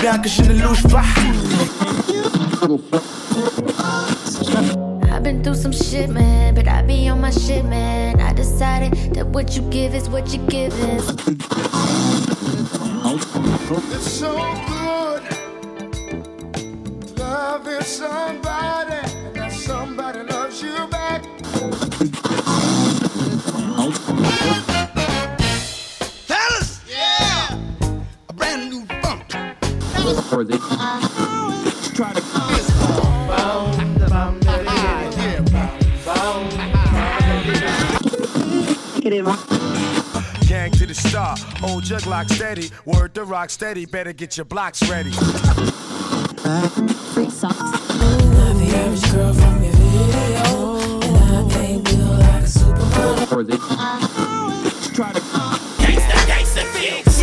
bien que je ne louche pas. I've been through some shit, man, but I be on my shit, man. I decided that what you give is what you give is. It's so good loving somebody, and that somebody loves you back. Fellas, yeah, a brand new funk. Try to gang to the star, old jug lock steady, word to rock steady, better get your blocks ready. Free socks. Not the average girl from your video, and I ain't built like a supermodel. Try to Gangsta fix.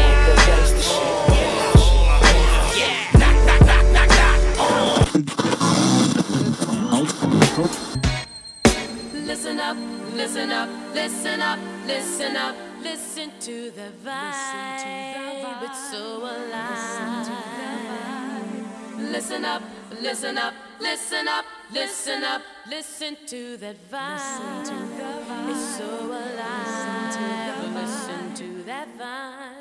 Listen up, listen up, listen up, listen up, listen to the vibe. It's so alive. Listen up, listen up, listen up, listen up, listen to that vibe. It's so alive. Listen to that vibe.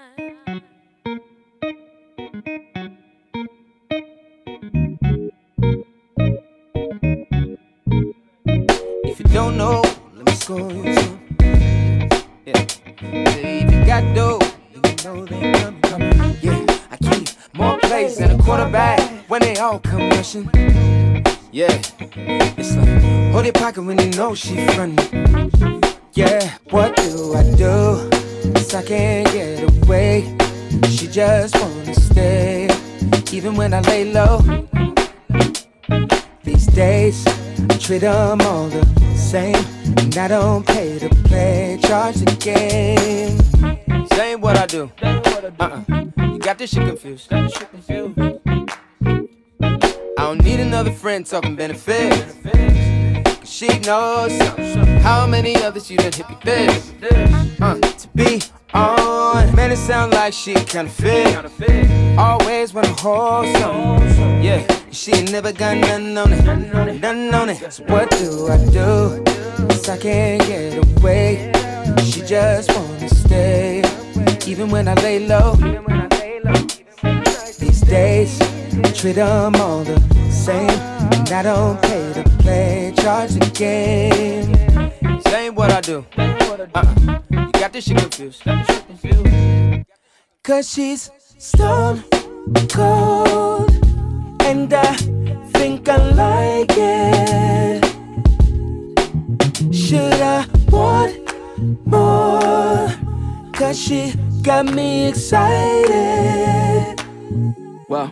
If you don't know, let me school you some. Yeah. Say if you got dough, you know they coming. Yeah, I keep more plays than a quarterback when they all come rushing. Yeah, it's like hold your pocket when you know she frontin'. Yeah, what do I do? 'Cause I can't get away. She just wanna stay, even when I lay low. These days, I treat them all the same, and I don't pay to play, charge the game. Same what I do. You got this shit confused. I don't need another friend talking benefits. Cause she knows how many others you done hit me this. To be on, man, it sound like she kinda fit. Always wanna hold something. Yeah, she ain't never got nothing on it, nothing on it. So what do I do? 'Cause I can't get away. She just wanna stay, even when I lay low. These days, I treat them all the same, and I don't pay to play, charge the game. Same what I do. You got this shit confused. Cause she's stone cold, and I think I like it. Should I want more? Cause she got me excited. Wow.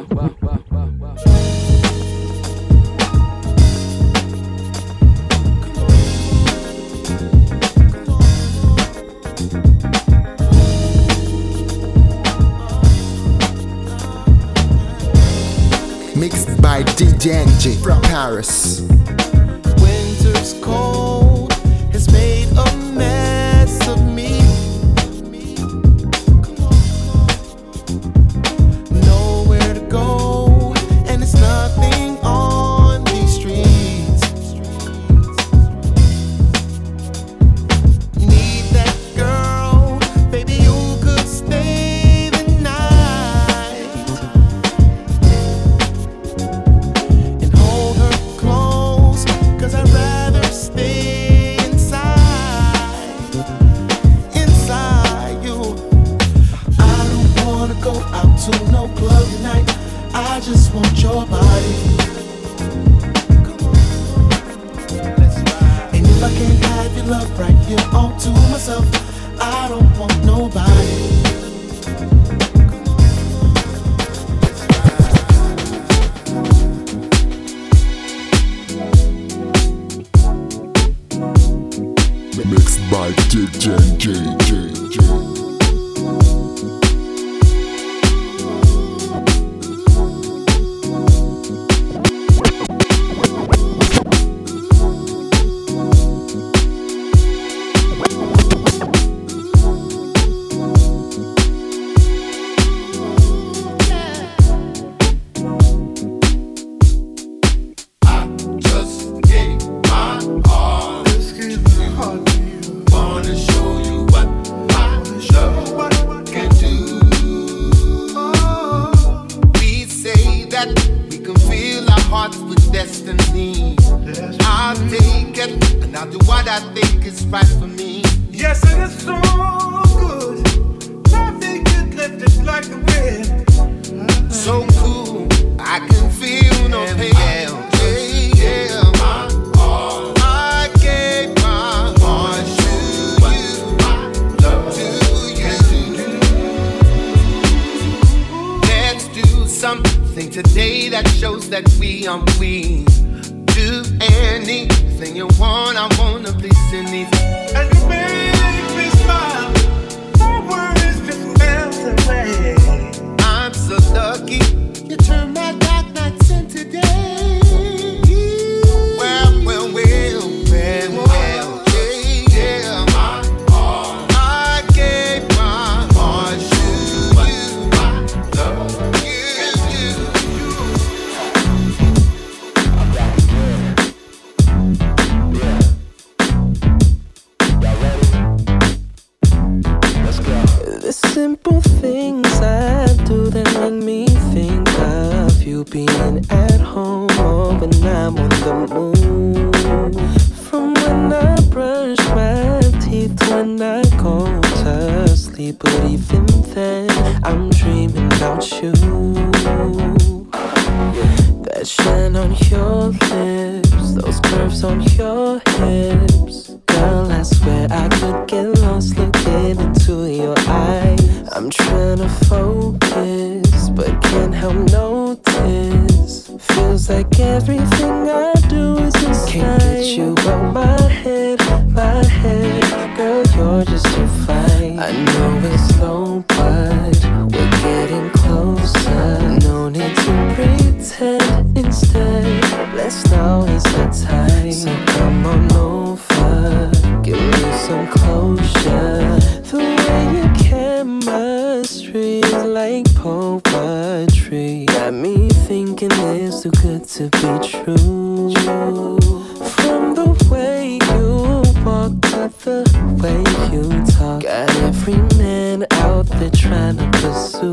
Mixed by DJ NG from Paris. winter's cold has made a mess of me. Nowhere to go, and it's nothing on these streets. Need that girl, baby, you could stay the night and hold her close, 'cause I'd rather stay inside you. I don't wanna go out to no club tonight, I just want your body. And if I can't have your love right here all to myself, I don't want nobody. Mixed by DJ NG. I'll do what I think is right for me. Yes, it is so good. Traffic is lifted like the wind. So cool, I can feel no pain. Yeah. My all. I gave my heart to you. Let's do something today that shows that we are we. Do anything you want, I wanna please anything. And you make me smile. My worries just melt away. I'm so lucky you turned my dark nights into day. Well, yeah. My all. I gave my heart to you. Love you. The simple things I do that make me think of you being at home or when I'm on the move. From when I brush my teeth when I go to sleep, but even then I'm dreaming about you. That shine on your lips, those curves on your hips. Girl, I swear I could get lost looking into your eyes. I'm trying to focus, but can't help notice. Feels like everything I do is inside. Can't get you out my head. Girl, you're just too fine. I know it's slow, but we're getting closer. No need to pretend. Instead, let's now is the time. So come on over, give me some closure. The way you chemistry is like poetry. Got me thinking it's too good to be true. From the way you walk to the way you talk, got every man out there trying to pursue.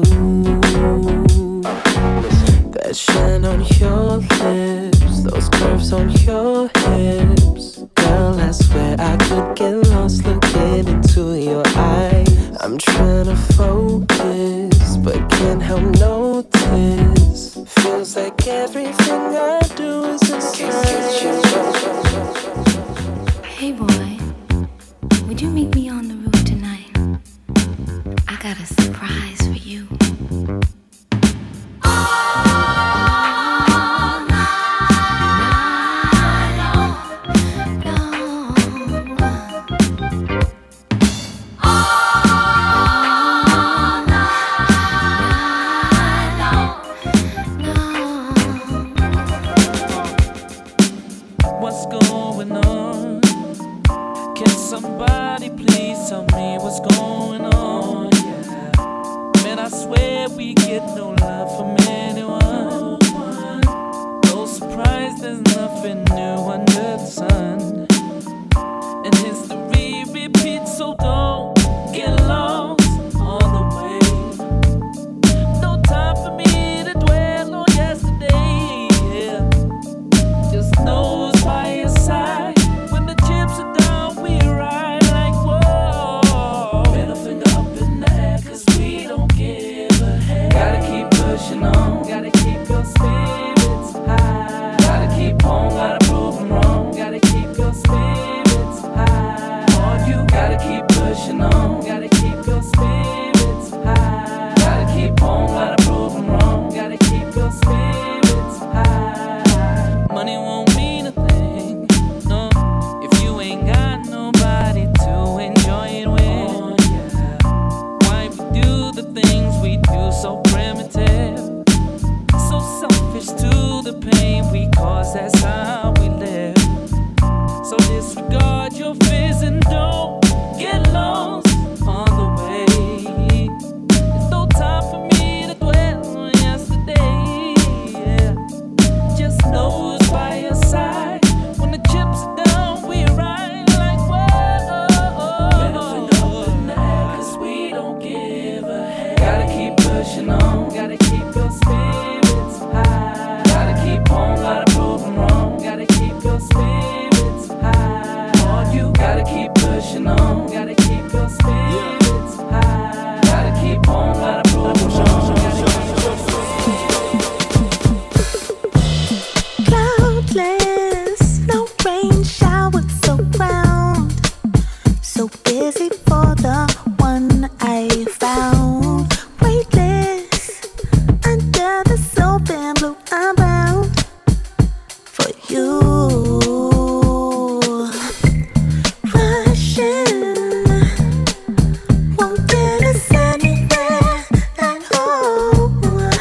That shine on your lips, those curves on your hips. Girl, I swear I could get lost looking into your eyes. I'm trying to focus, but can't help notice. Feels like everything I do is inside. Hey boy, would you meet me on the roof tonight? I got a surprise for you. What's going on? Can somebody please tell me what's going on? Yeah. Man, I swear we get no love from anyone. No surprise, there's nothing new under the sun. And history repeats, so don't get lost on the way. No time for me to dwell on yesterday. Yeah. Just know it's by your side. When the chips are down, we ride like whoa. Middle finger up in the air, 'cause we don't give a heck. Gotta keep pushing on, gotta keep your spirits high. Gotta keep on, gotta prove them wrong. Gotta keep your spirits high. Oh, you gotta keep pushing on, gotta keep your spirits high. Gotta keep on, gotta prove them wrong. Gotta keep your spirits high. Money won't mean a thing, no, if you ain't got nobody to enjoy it with. Why we do the things we do so primitive, so selfish to the pain we cause, that's how we live. So disregard your fears and don't get lost on the way. There's no time for me to dwell on yesterday. Yeah. Just know it's by your side. When the chips are down, we ride like whoa. Middle finger up in the air, 'cause we don't give a heck. Gotta keep pushing on, gotta keep your spirits high. Gotta keep on, gotta prove them wrong. Gotta keep your spirits high. Gotta keep pushing on. Gotta keep your spirits high. Gotta keep on, gotta push on. Cloudless, no rain showers around. So busy for the one I found. Weightless under the soap and blue. I'm bound for you. Rushing won't get us anywhere at home.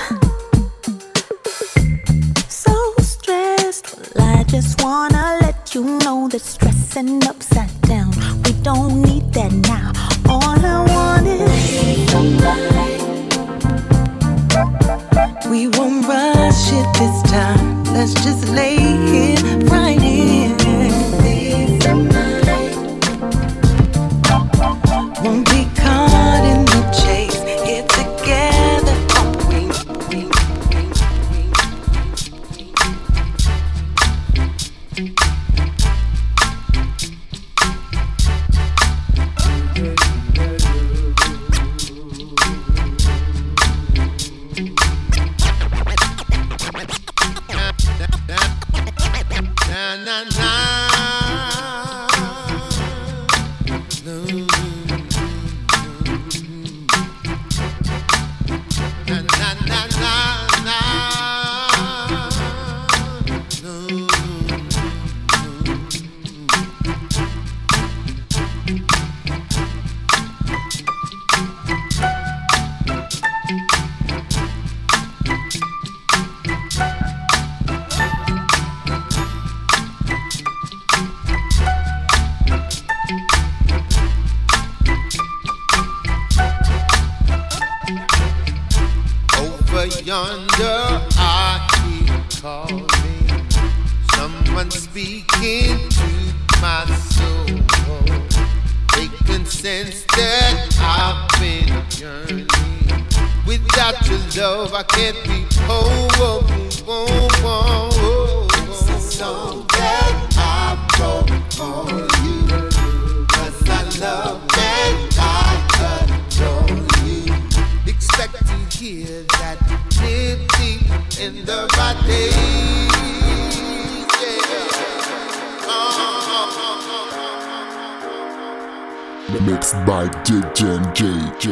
So stressed, well, I just wanna let you know that stressing upside down, we don't need that now. All I want is we won't rush it this time. Let's just lay here, right here. Won't be caught in the chase. Here together, yonder I hear calling, someone speaking to my soul. They can sense that I've been yearning. Without your love, I can't be whole. It's a song that I wrote for you, 'cause I love and I adore you. Expect to hear that live deep in the right days. Mixed by DJ.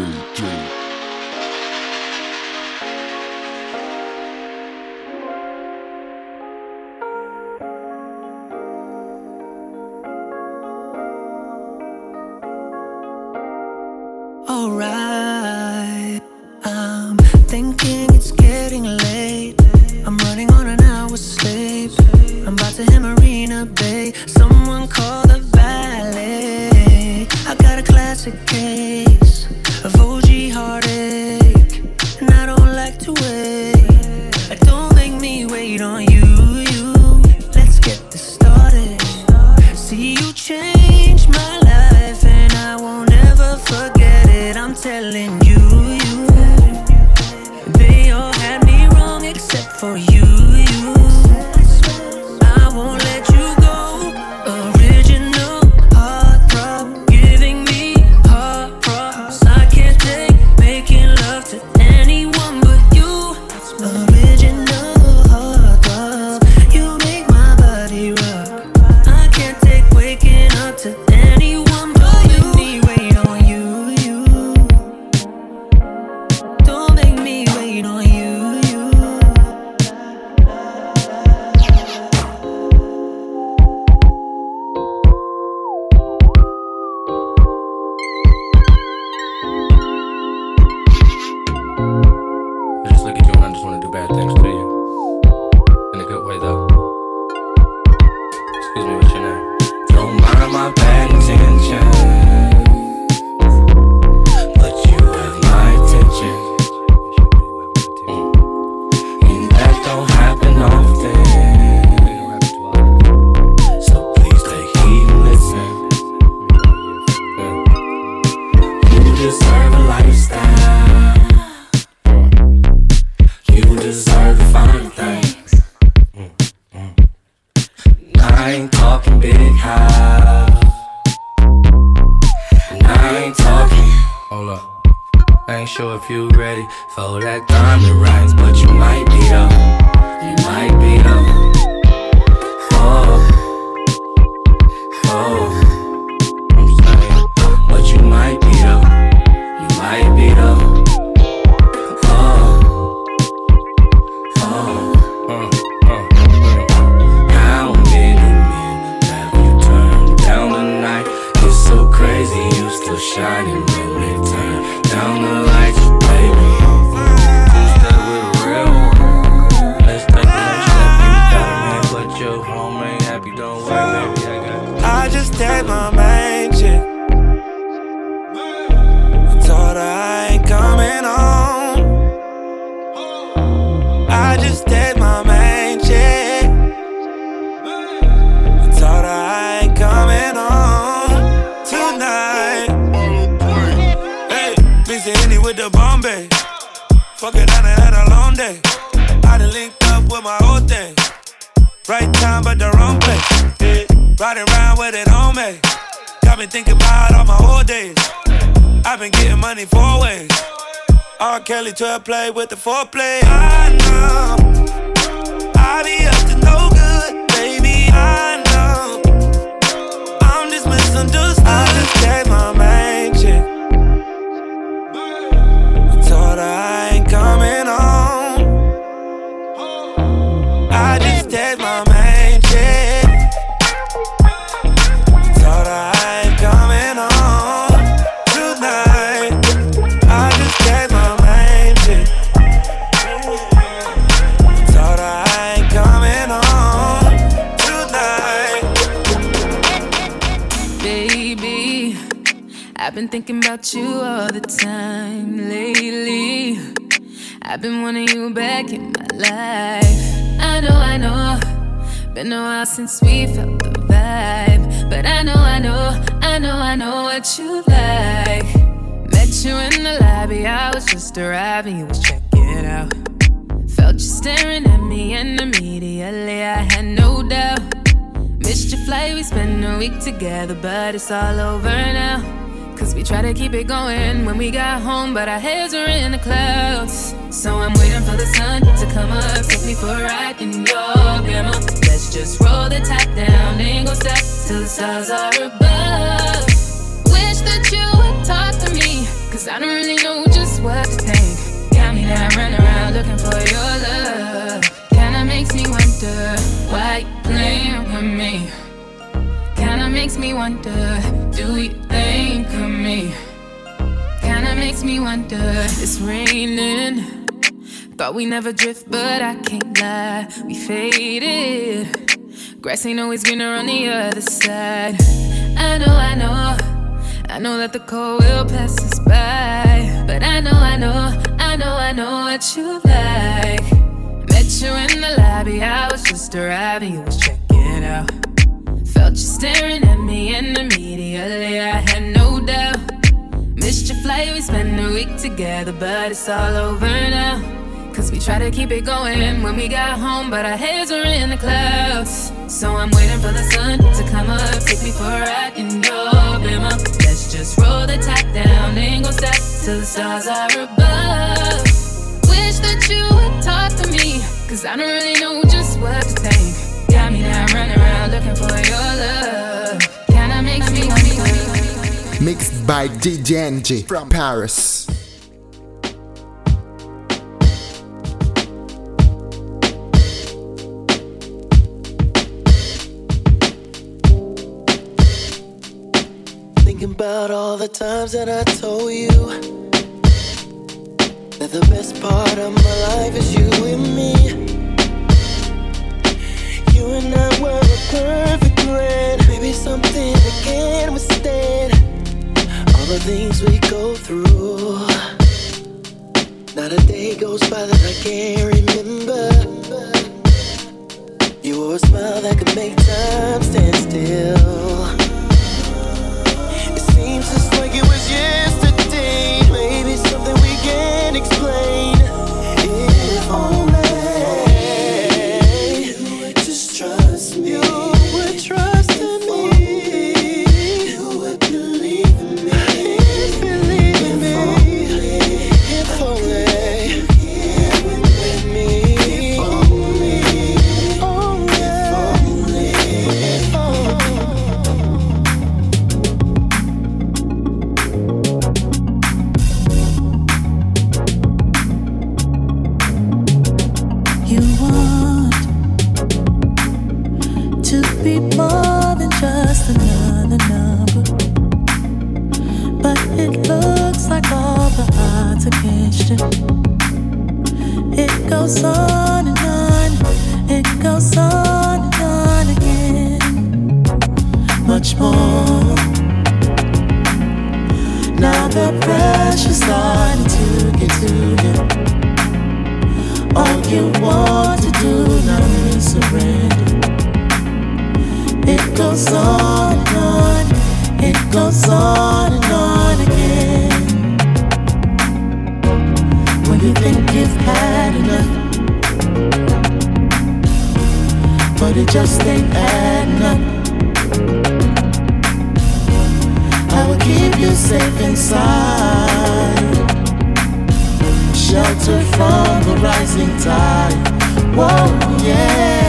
alright. I'm thinking it's getting late. I'm running on an hour's sleep. I'm about to hit Marina Bay. Someone call the valet. I got a classic case of OG heartache, and I don't like to wait. Don't make me wait on you. Let's get this started. See, you changed my life, and I won't ever forget it. I'm telling you. They all had me wrong except for you. I won't let you go. Original heartthrob, giving me heart problems. I can't take making love to anyone but you. Original heartthrob, you make my body rock. I can't take waking up to anyone but you. Don't make me wait on you. Don't make me wait on you. sure if you ready for that time to rise, but you might be though. You might be though. Oh, oh, I'm saying, but you might be though. You might be though. How many men have you turned down tonight? It's so crazy, you still shining when they turn down the lights, baby. Two-step with a real one. Let's take the next step. You got a man, but your home ain't happy. Don't worry, baby, I got you. I just text my main chick. I told her I ain't coming home. I just text my main chick. I told her I ain't coming home tonight. Hey, mix it Henny with the Bombay. Fuck it, I done had a long day. I done linked up with my whole thing. Right time, but the wrong place. Yeah. Riding around with it on me. Got me thinking about all my old days. I've been getting money 4 ways. R. Kelly 12 play with the foreplay. I know I be up to no good, baby. I know I'm just misunderstood. I just text my main chick. I told her I ain't coming home. I just text my main chick. I told her I ain't coming home tonight. I just text my main chick. Told her I ain't coming home tonight. Baby, I've been thinking about you all the time lately. I've been wanting you back in my life. I know, been a while since we felt the vibe. But I know what you like. Met you in the lobby, I was just arriving, you was checking out. Felt you staring at me and immediately I had no doubt. Missed your flight, we spent a week together, but it's all over now. Cause we try to keep it going when we got home, but our heads are in the clouds. So I'm waiting for the sun to come up, take me for a ride in your grandma. Let's just roll the top down, ain't gon' stop till the stars are above. Wish that you would talk to me, cause I don't really know just what to think. Got me down, running around looking for your love. Kinda makes me wonder why you playing with me. Kinda makes me wonder, do you think of me? Kinda makes me wonder, it's raining. Thought we never drift, but I can't lie, we faded. Grass ain't always greener on the other side. I know that the cold will pass us by. But I know what you like. Met you in the lobby, I was just arriving, you was checking out. Felt you staring at me and immediately I had no doubt. Missed your flight, we spent a week together, but it's all over now. Cause we try to keep it going when we got home, but our heads are in the clouds. So I'm waiting for the sun to come up, take me for a ride in your bimmer. Let's just roll the top down, ain't gon' stop till the stars are above. Wish that you would talk to me, cause I don't really know just what to think. Got me down, running around looking for your love. Kinda makes me wonder. Mixed by DJ NG from Paris. Thinking about all the times that I told you that the best part of my life is you and me. You and I were a perfect blend, maybe something we can't withstand. All the things we go through, not a day goes by that I can't remember. You wore a smile that could make time stand still. It seems just like it was yesterday, maybe something we can't explain. If only trust me. You would trust in me. You would believe in me. Believe in me. emotion. It goes on and on. It goes on and on again. Much more. Now the pressure's starting to get to you. All you want to do now is surrender. It goes on and on. It goes on and on again. When you think you've had enough, but it just ain't adding up. I will keep you safe inside, shelter from the rising tide. Whoa, yeah.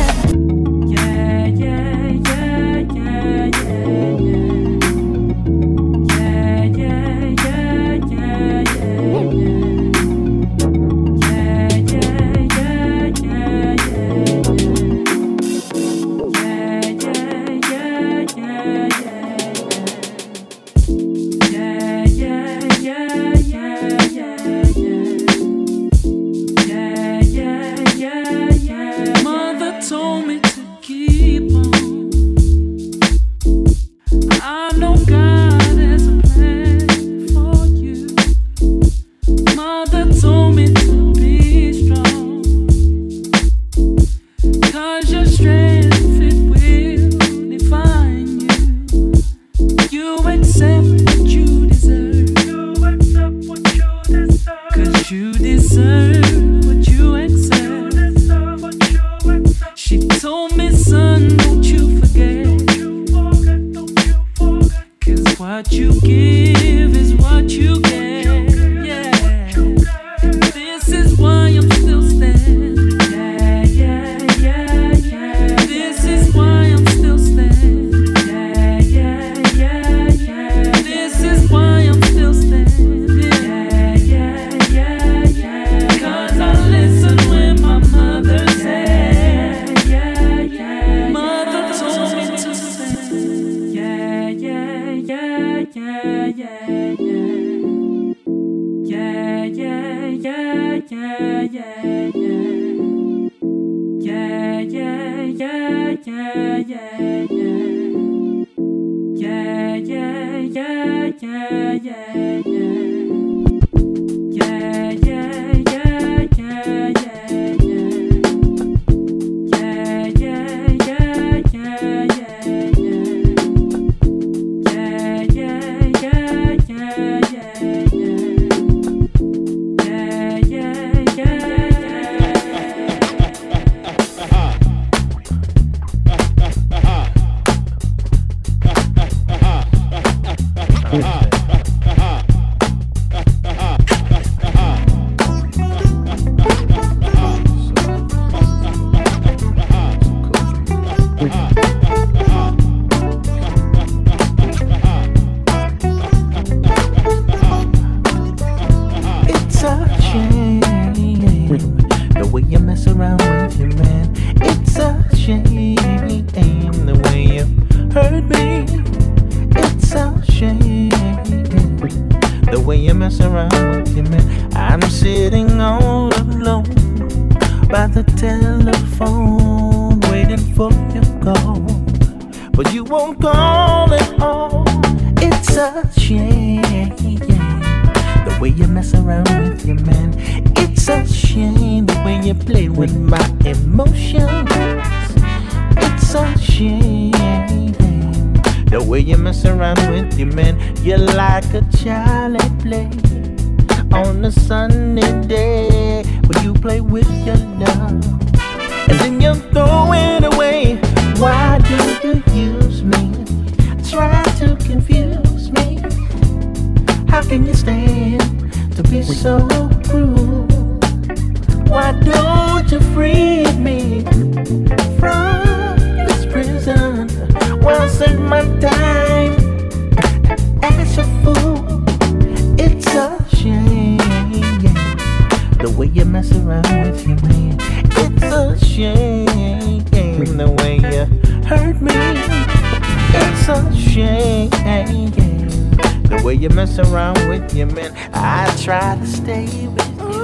The way you mess around with your man, I try to stay with you.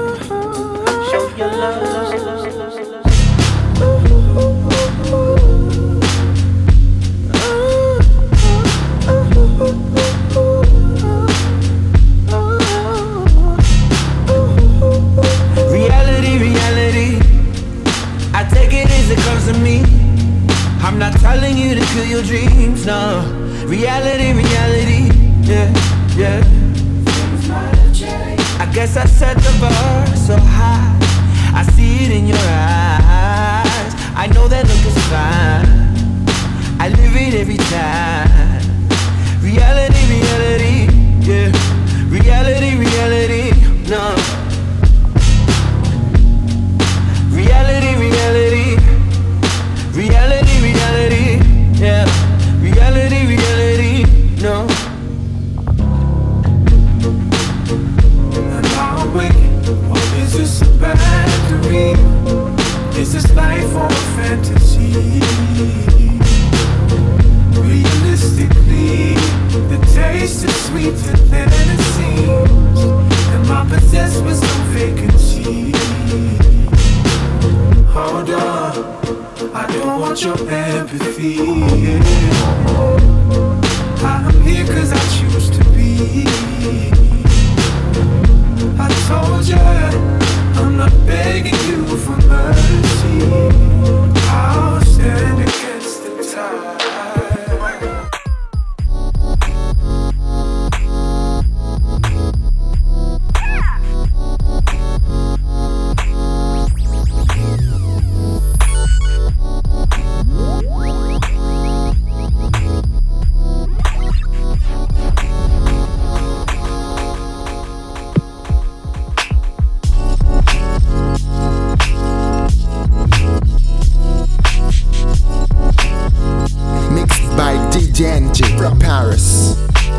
your love. Reality, I take it as it comes to me. I'm not telling you to kill your dreams, no. Reality, yeah. I guess I set the bar so high. I see it in your eyes. I know that look is fine. I live it every time. Reality, yeah. Reality, no. Reality, yeah. Reality, no. Am I awake, or is this a bad dream? Is this life or a fantasy? Realistically, the taste is sweeter than it seems. Am I possessed with some vacancy? Hold on, I don't want your empathy. I'm here cause I choose to be. I told ya, I'm not begging you for mercy. I'll stand against the tide. DJ from Paris.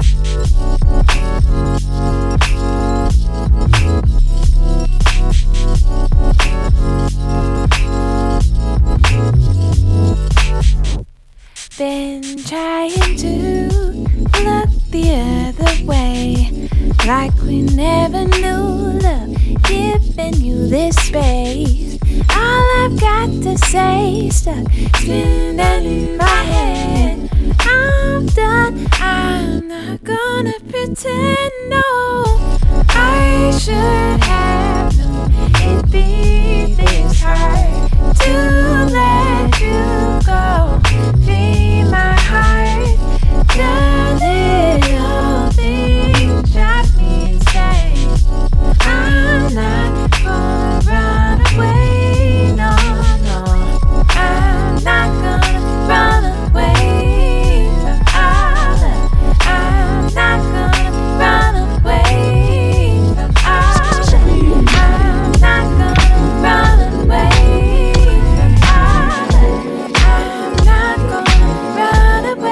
Been trying to look the other way, like we never knew love giving you this space. All I've got to say, stuck spinning in my head. I'm done, I'm not gonna pretend, no. I should have known it'd be this hard to let you go. Free my heart, the little things drive me insane. I'm not gonna run away, no, no. I'm not gonna run away from our love. I'm not gonna run away from our love. I'm not gonna run away from our love. I'm not gonna run away.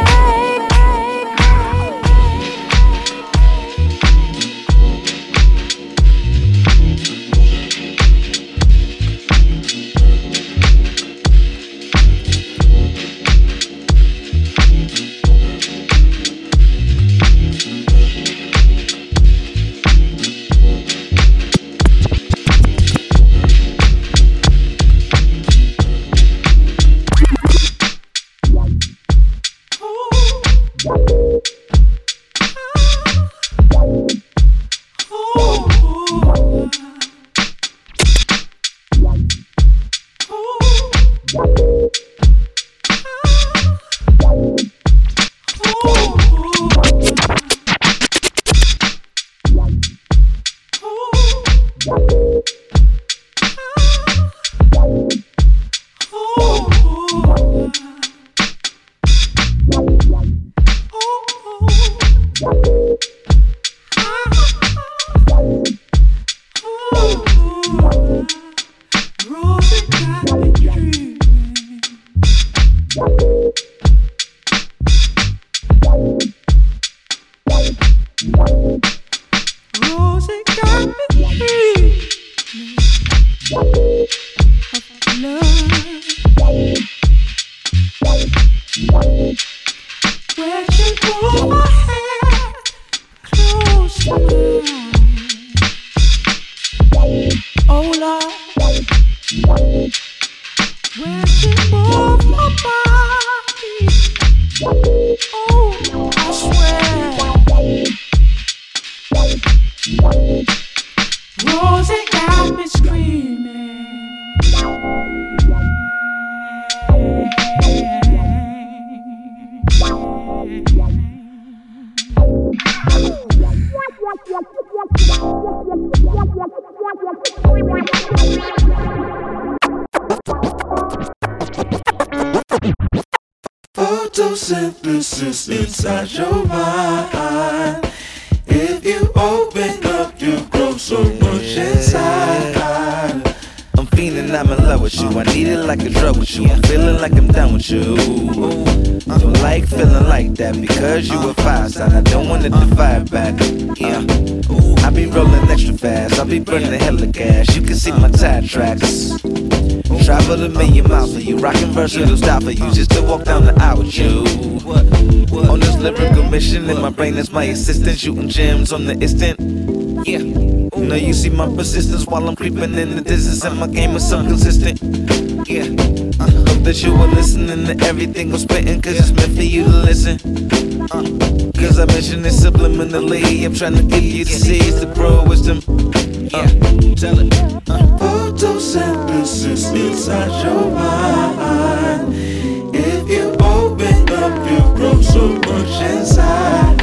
Photosynthesis inside your mind. If you open up, you grow so much inside. I'm feeling I'm in love with you. I need it like a drug with you. I'm feeling like I'm done with you. Don't like feeling like that because you a fire sign. I don't want it to fire back. I be rolling extra fast. I be burning hella gas. You can see my tire tracks. Travel a million miles for you. Rockin' versatile style for you. Just to walk down the aisle with you. On this lyrical mission, in my brain is my assistant. Shooting gems on the instant. Yeah. Now you see my persistence while I'm creeping in the distance, and my game is so consistent. Yeah. Hope that you are listening to everything I'm spitting, cause it's meant for you to listen. Cause I mention it subliminally. I'm trying to give you the seeds to grow wisdom. Yeah, tell it. Photosynthesis inside your mind. If you open up, you grow so much inside.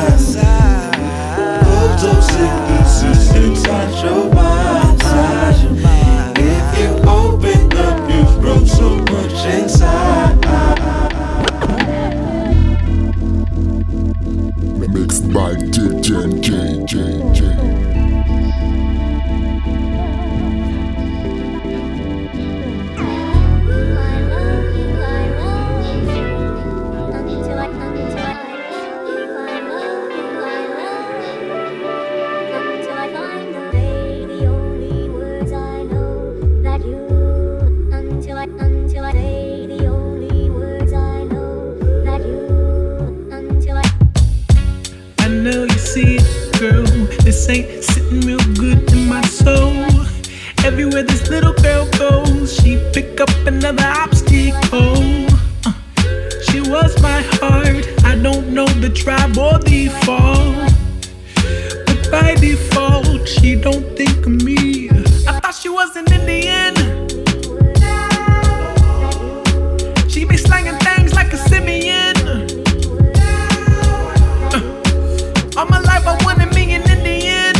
Photosynthesis inside your mind. If you open up, you grow so much inside. Mixed by DJ J. This ain't sitting real good in my soul. Everywhere this little girl goes, she pick up another obstacle. She was my heart. I don't know the tribe or the fall, but by default, she don't think of me. I thought she was an Indian. She be slanging things like a simian. All my life I wanted me an Indian,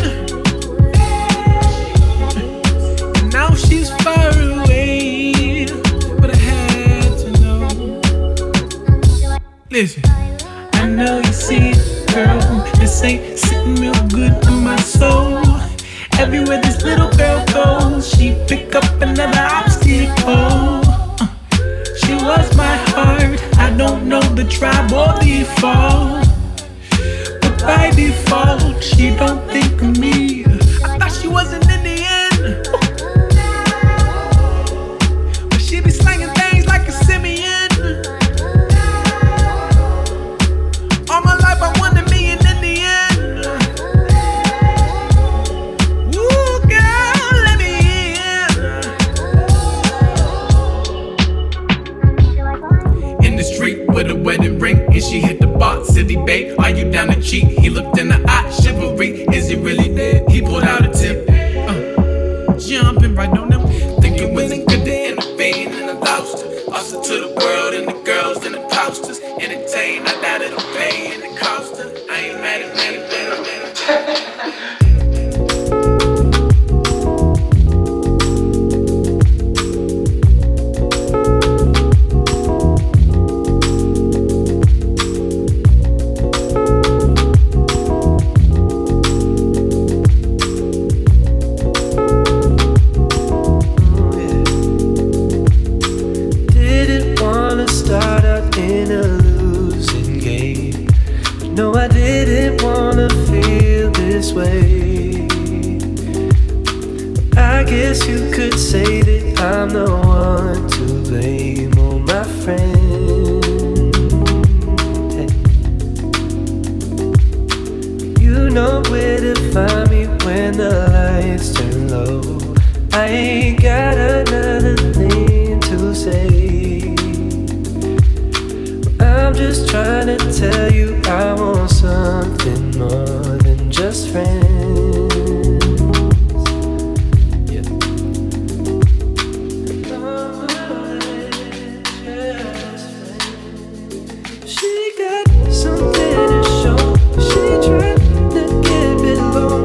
and now she's far away, but I had to know. Listen, I know you see it, girl. This ain't sitting real good in my soul. Everywhere this little girl goes, she pick up another obstacle. She was my heart. I don't know the tribe or the fall. By default, she don't think of me. I thought she was an Indian, but she be slanging things like a simian. All my life I wanted me an Indian. Ooh, girl, let me in. In the street with a wedding ring, and she hit the bar, city babe. Are you down to cheat? He looked in the eye, chivalry. Is he really dead? He pulled out a tip. Jumping right on them. Think it wasn't good to intervene, and I lost her. Lost her to the world and the girls and the posters. Entertained, I doubt it'll pay, and it cost her. I ain't mad at me, She got something to show. She tried to get below.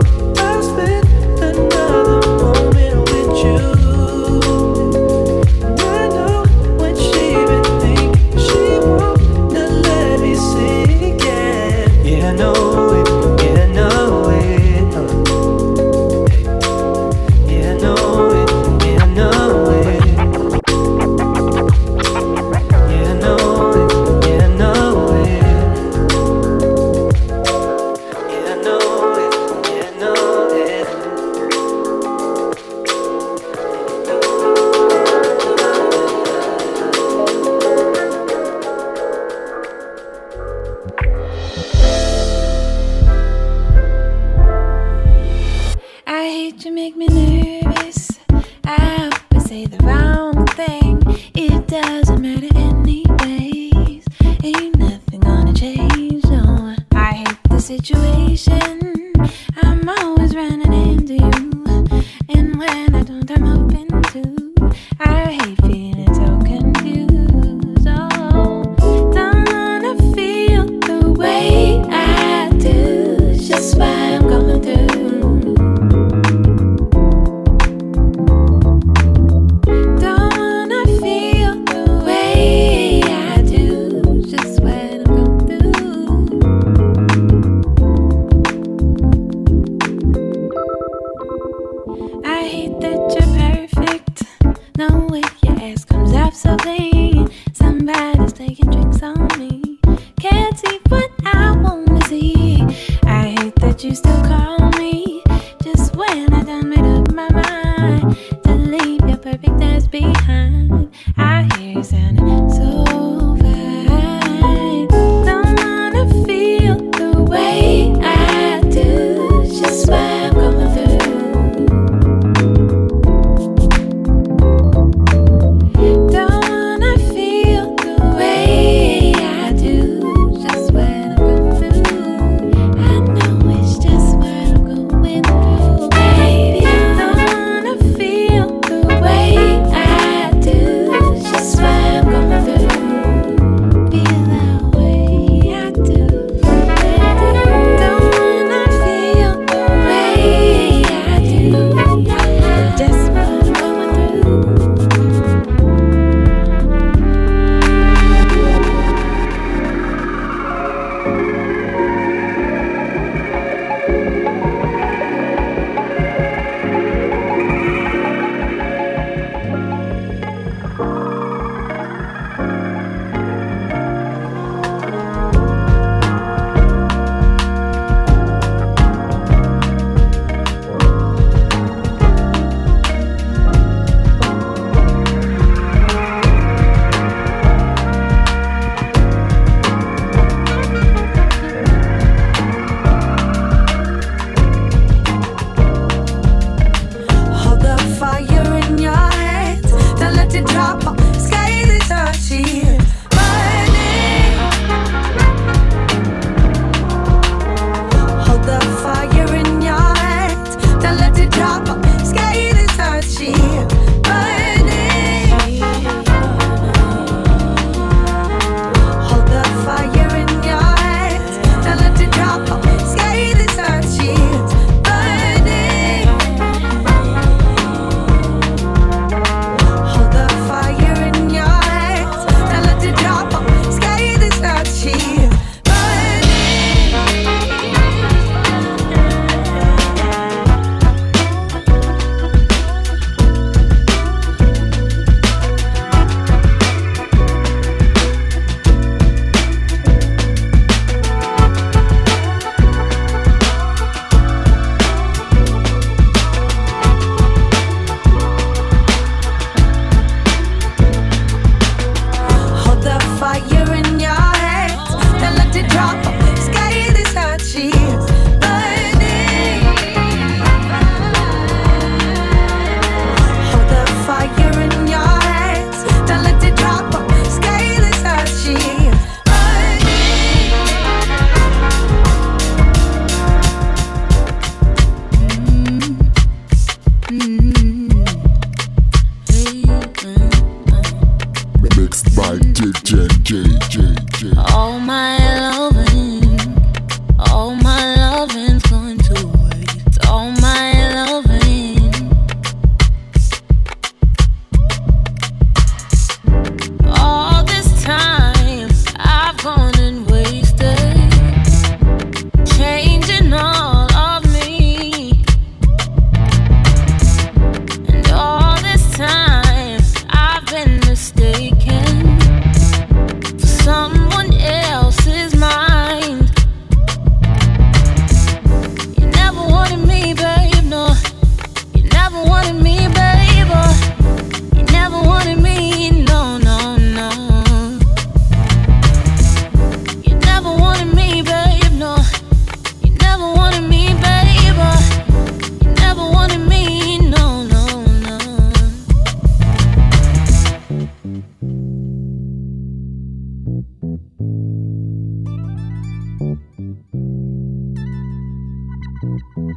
You make me nervous. I hope I say the wrong thing. It doesn't matter anyways. Ain't nothing gonna change, no. I hate the situation. I'm always running into you. And when I don't, I'm hoping to. I hate feeling so confused. Oh, don't wanna feel the way I do. Just why I'm going through.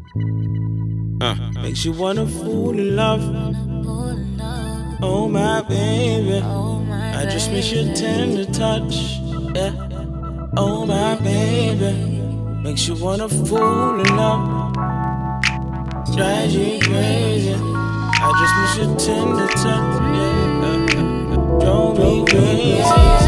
Makes you wanna fall in love. Oh my baby, I just miss your tender touch. Yeah. Oh my baby, makes you wanna fall in love. Drives you crazy. I just miss your tender touch. Yeah. Drove me crazy.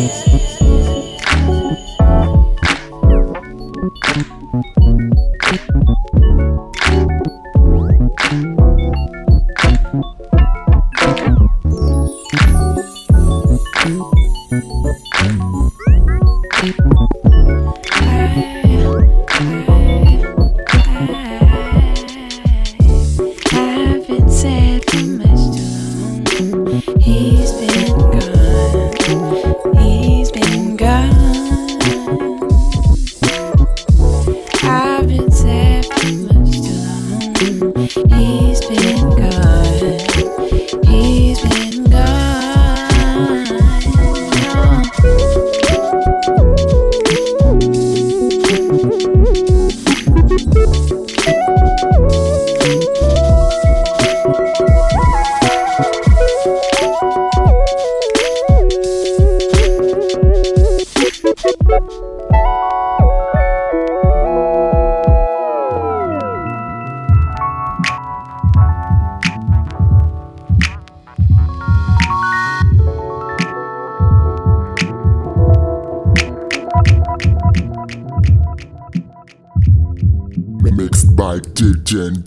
Mixed by DJ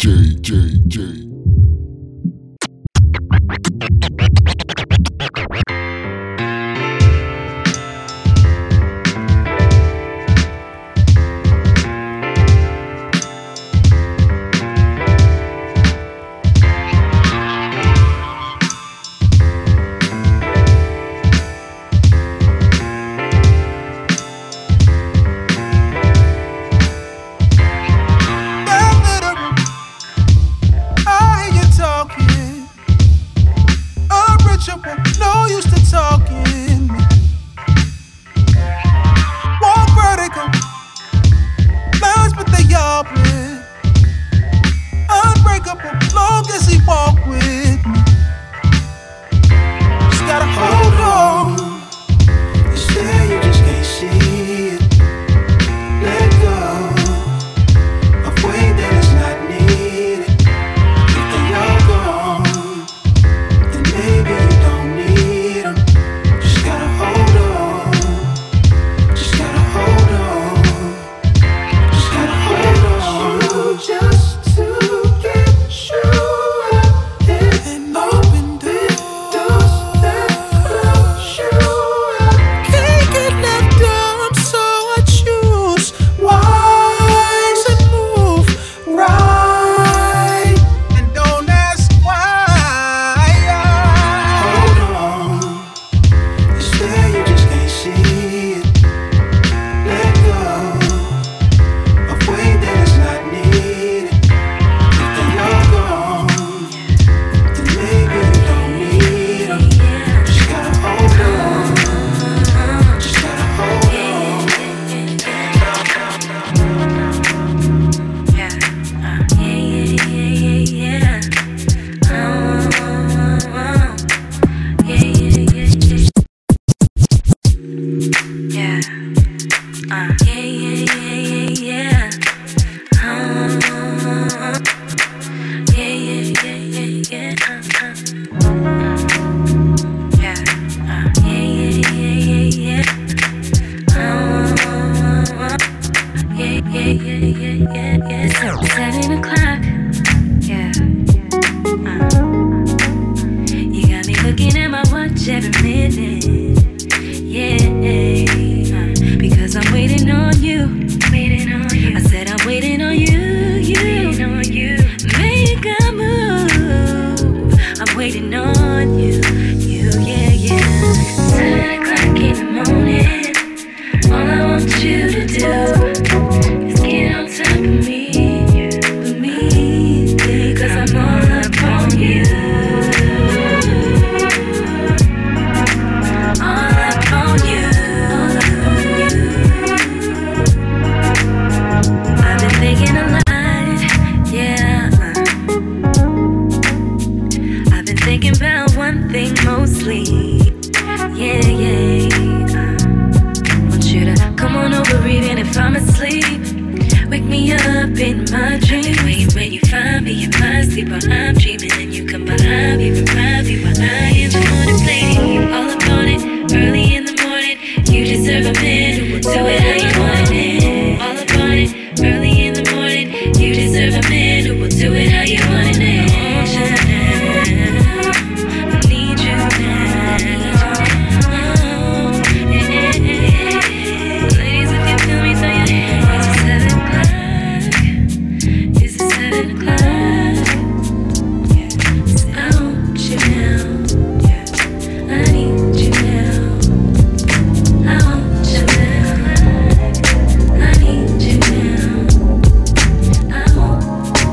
J. All I want you to do is get on top of me. me up in my dreams. When you find me in my sleep while I'm dreaming, and you come behind me, revive me while I am the one to play. All upon it, early in the morning. You deserve a man who will do it how you want it. All upon it, early in the morning. You deserve a man who will do it how you want it. I need you now. Ladies, if you feel me, throw your hands. It's 7 o'clock. I want you now. I need you now. I want you now. I need you now. I want.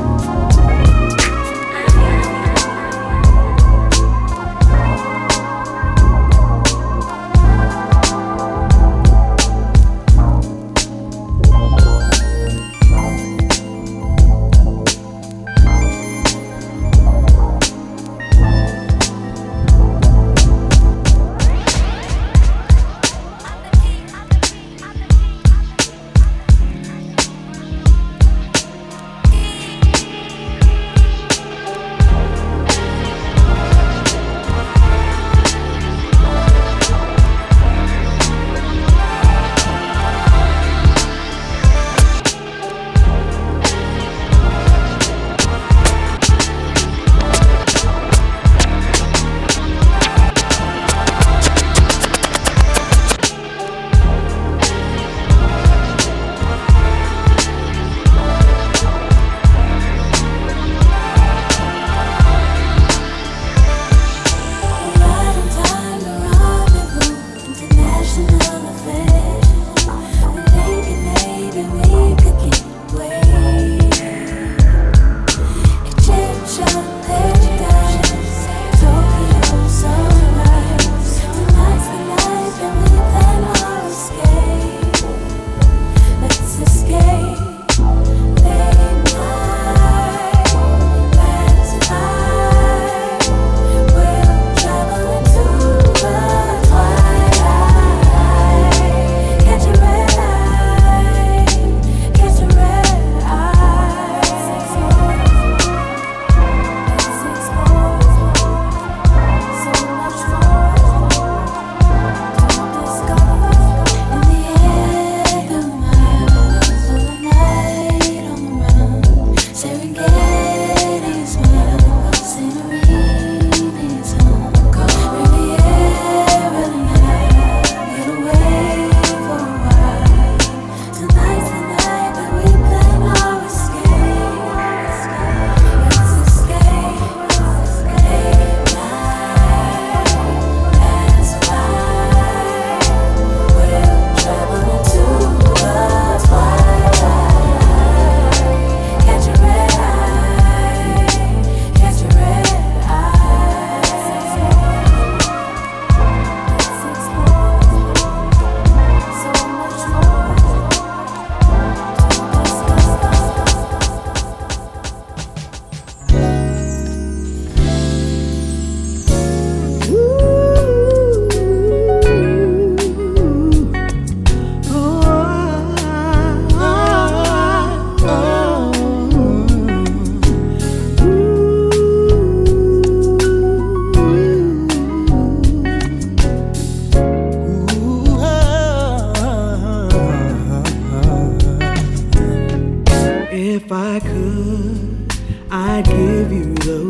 If I could, I'd give you the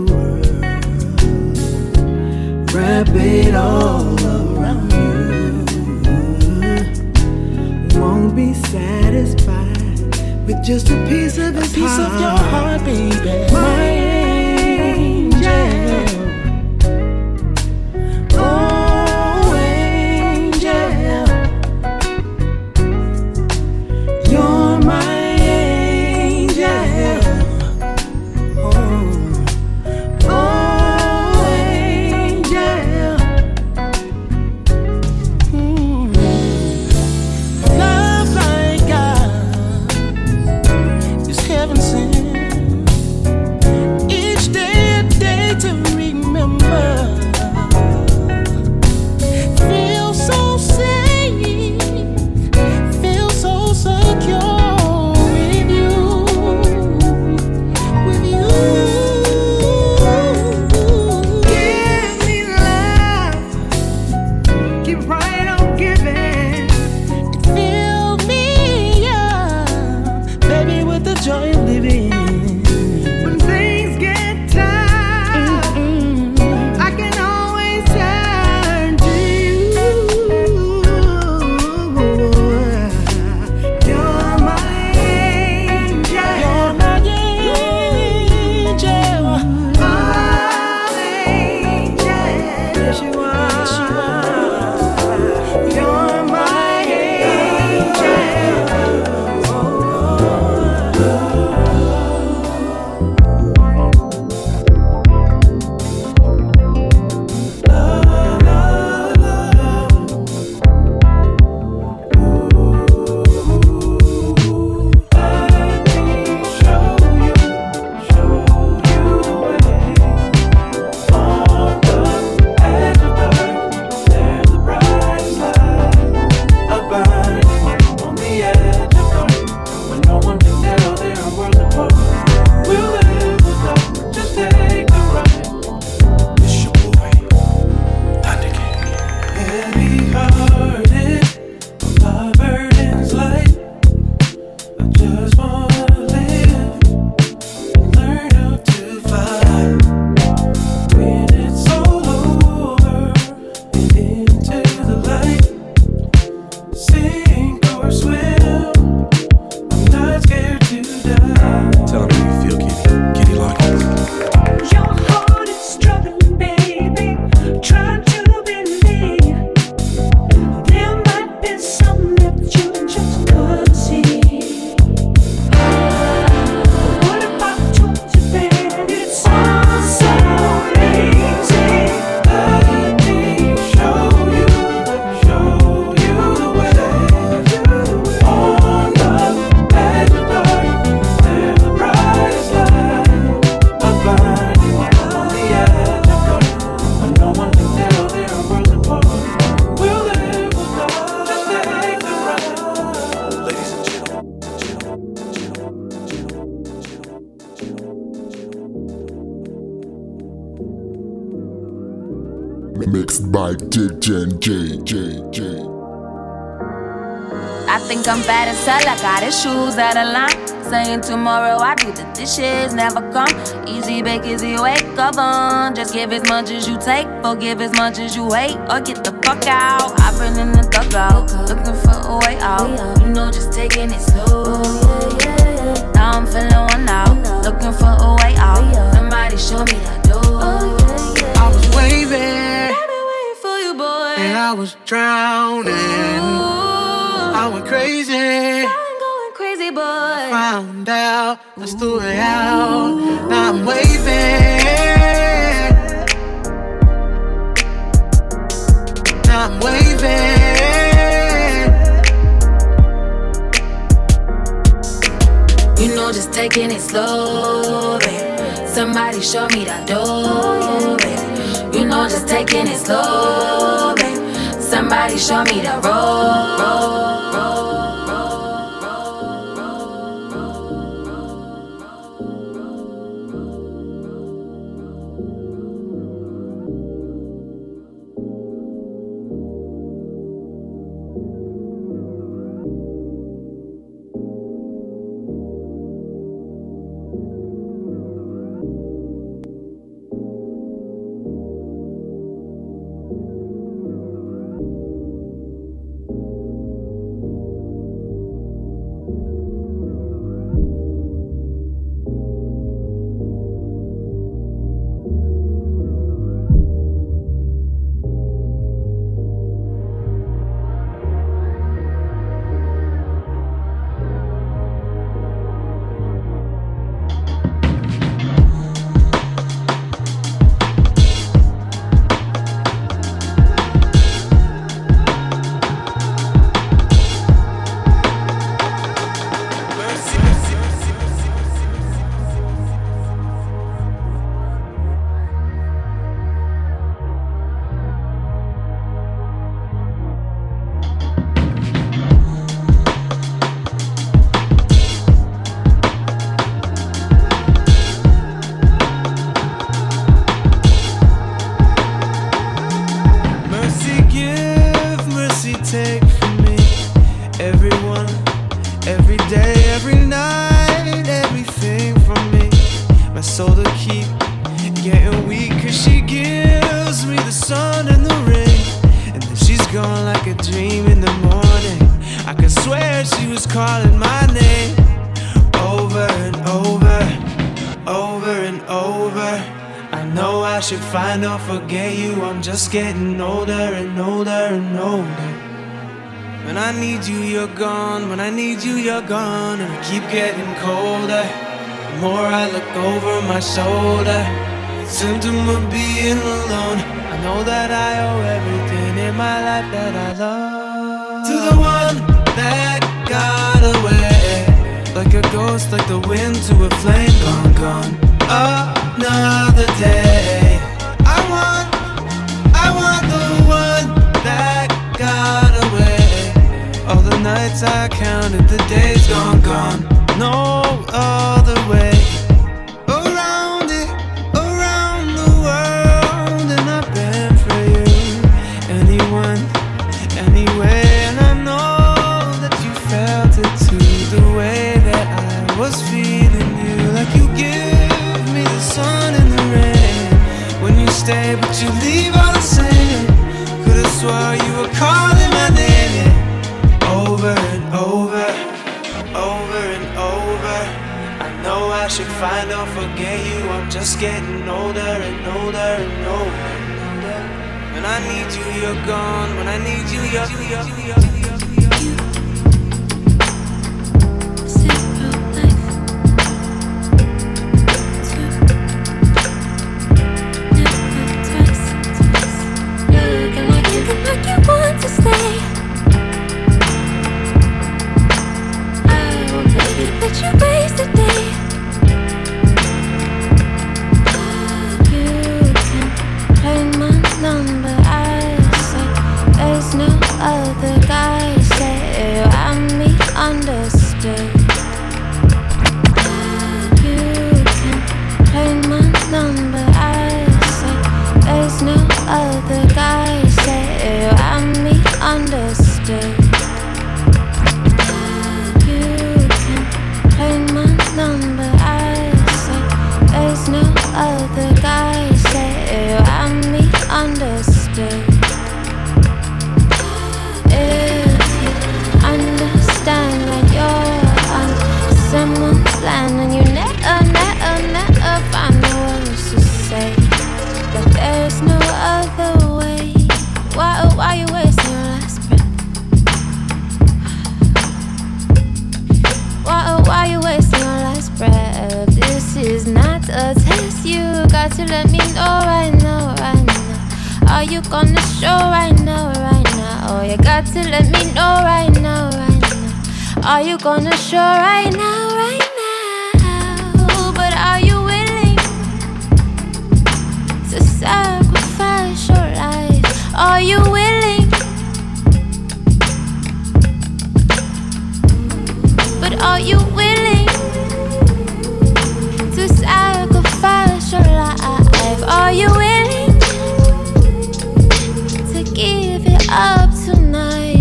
world, wrap it all around you. Won't be satisfied with just a piece of his piece heart. of your heart, baby. My angel. Oh, angel. You're my angel. Oh, angel. Love like God is heaven sent. Mixed by DJ. I think I'm bad as hell, I got his shoes out of line. Saying tomorrow I do the dishes, never come. Easy bake, easy wake, come on. Just give as much as you take, forgive as much as you hate, or get the fuck out. I've been in the dugout, looking for a way out. You know, just taking it slow. Now I'm feeling one out, looking for a way out. Somebody show me the door. I was waving, for you, boy, and I was drowning. I went crazy. Boy. I found out, let's do it out. Now I'm waving. Now I'm waving. You know, just taking it slow, babe. Somebody show me that door, babe. You know, just taking it slow, babe. Somebody show me the road. Forget you, I'm just getting older and older and older. When I need you, you're gone. When I need you, you're gone. And I keep getting colder. The more I look over my shoulder, symptom of being alone. I know that I owe everything in my life that I love to the one that got away, like a ghost, like the wind to a flame. Gone, gone, another day. I want the one that got away. All the nights I counted, the days gone, gone. No other way. Around it, around the world, and I've been for you. Anyone, anyway, and I know that you felt it too. The way that I was feeling you, like you give me the sun and the rain. When you stay, but you leave all the same. Could've swore you were calling my name, yeah. Over and over, over and over. I know I should find or forget you. I'm just getting older and older and older. When I need you, you're gone. When I need you, you're like you want to stay. I won't let you waste the day. You can play my number. I say there's no other guy. gonna show right now, right now? Oh, you got to let me know right now, right now. Are you gonna show right now, right now? But are you willing to sacrifice your life? Are you willing? But are you willing to sacrifice your life? Are you willing to give it up tonight?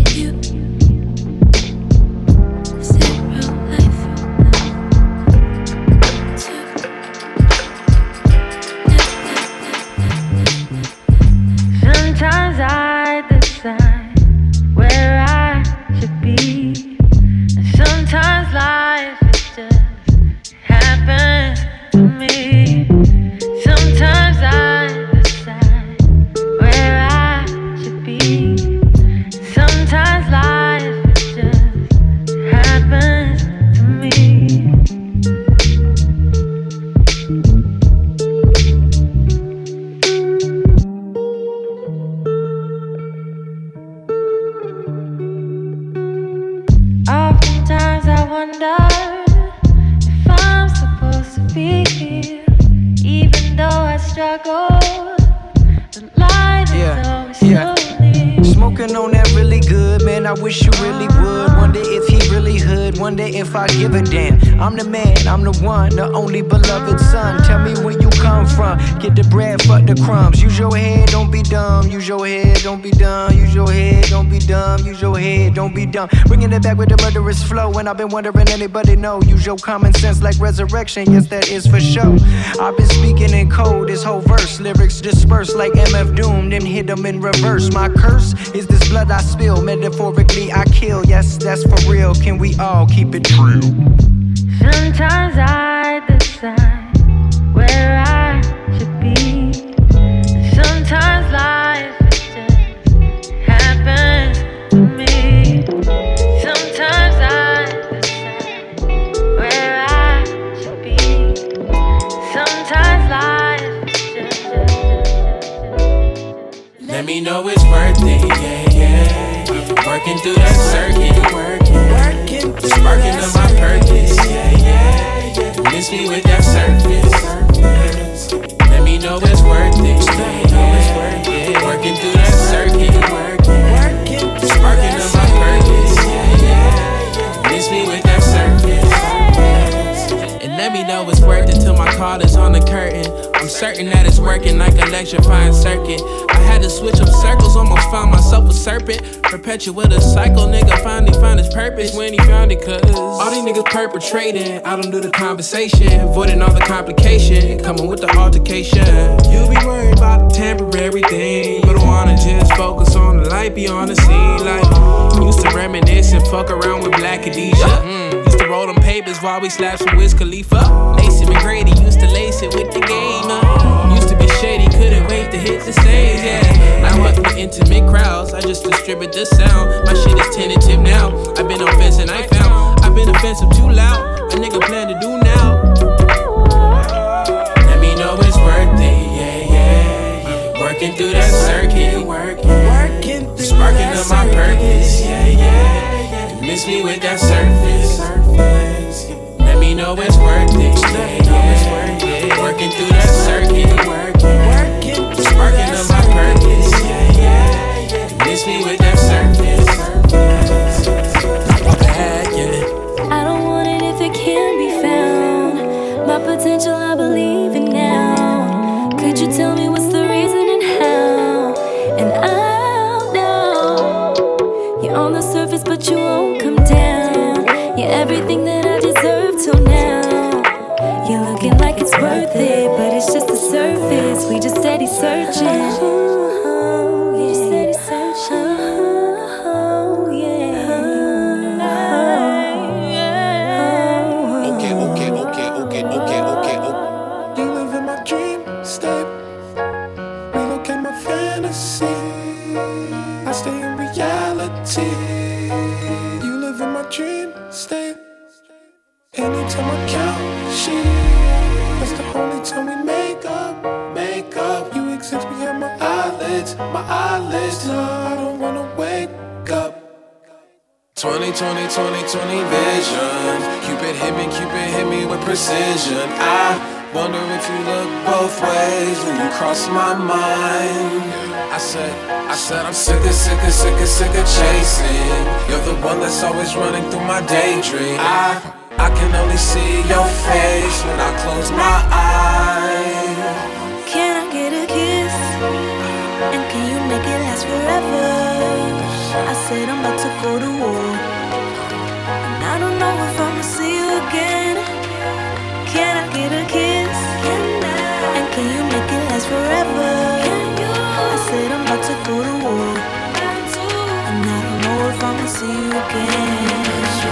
Sometimes I decide where I should be, and sometimes life is just happens to me. Sometimes I decide where I should be, sometimes life is just happens to me. Oftentimes I wonder if I'm supposed to be here, even though I struggle. The light is always slowly. Smoking on that really good, man, I wish you really would. Wonder if he really hood, wonder if I give a damn. I'm the man, I'm the one, the only beloved son. Tell me where you come from, get the bread, fuck the crumbs. Use your head, don't be dumb. Use your head, don't be dumb. Use your head, don't be dumb. Use your head, don't be dumb. Bringing it back with the murderous flow, and I've been wondering anybody know. Use your common sense like resurrection, yes that is for sure. I've been speaking in code, this whole verse, lyrics dispersed like MF Doom, then hit them in reverse. My curse is this blood I spill, metaphorically I kill. Yes, that's for real. Can we all keep it true? Sometimes I decide where I should be, sometimes life is just happens to me. Sometimes I decide where I should be, sometimes life is just. Let me know it's worth it, yeah, yeah. Working through that circuit, working, sparking up my purpose, yeah, yeah. Miss me with that surface. Let me know it's worth it, yeah. Working through that circuit, working, sparking up my purpose, yeah, yeah. Miss me with that surface. And let me know it's worth it till my call is on the curtain. I'm certain that it's working like electrifying circuit. I had to switch up circles, almost found myself a serpent. Perpetuate a cycle, nigga finally found his purpose when he found it. Cause all these niggas perpetrating, I don't do the conversation, avoiding all the complication, coming with the altercation. You be worried about the temporary thing, but I wanna just focus on the light beyond the scene. Like, used to reminisce and fuck around with Black Khadijah. Used to roll them papers while we slapped some Wiz Khalifa. Lacey McGrady used to lace it with the game. Used to be shady, couldn't wait to hit the stage, yeah. Now I with intimate crowds, I just distribute the sound. My shit is tentative now. I've been offensive and I found I've been offensive too loud. A nigga plan to do now. Let me know it's worth it, yeah, yeah. Working through that circuit, working, sparking up my purpose, yeah, yeah. Miss me with that surface. Let me know it's worth it, yeah, yeah. Working through that circuit, working, sparking up my purpose, yeah, yeah. Miss me with that surface. I don't want it if it can't be found. My potential, I believe in now. Could you tell me what's the reason and how? And I'll know you're on the surface, but you won't come down. You're everything that I deserve till now. You're looking like it's worth it, but it's just the surface. We just steady searching. Anytime I count shit, that's the only time we make up. You exist behind my eyes. I don't wanna wake up. 20, 20 vision. Cupid hit me with precision. I wonder if you look both ways when you cross my mind. I said I'm sick of chasing. You're the one that's always running through my daydream. I can only see your face when I close my eyes. Can I get a kiss? And can you make it last forever? I said I'm about to go to war, and I don't know if I'ma see you again. Can I get a kiss? And can you make it last forever? I said I'm about to go to war, and I don't know if I'ma see you again.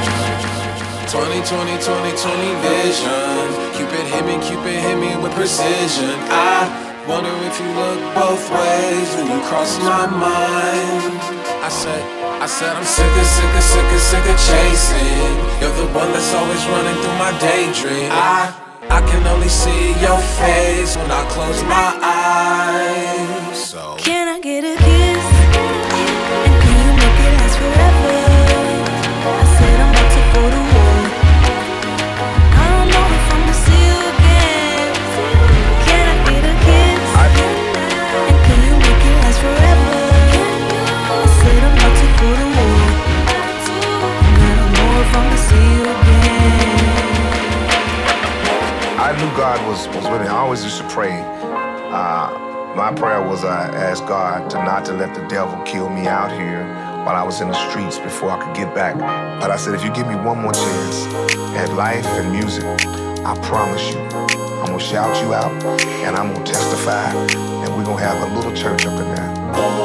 20 vision. Cupid hit me with precision. I wonder if you look both ways when you cross my mind. I said I'm sick of chasing. You're the one that's always running through my daydream. I can only see your face when I close my eyes. So can I get a kiss? And can you make it last forever? I said I'm about to go to war. I don't know if I'ma see you again. Can I get a kiss? And can you make it last forever? I said I'm about to go to war, and I don't know if I'ma see you again. I knew God was with me. I always used to pray. My prayer was I asked God not to let the devil kill me out here while I was in the streets before I could get back. But I said, if you give me one more chance at life and music, I promise you, I'm gonna shout you out and I'm gonna testify, and we're gonna have a little church up in there.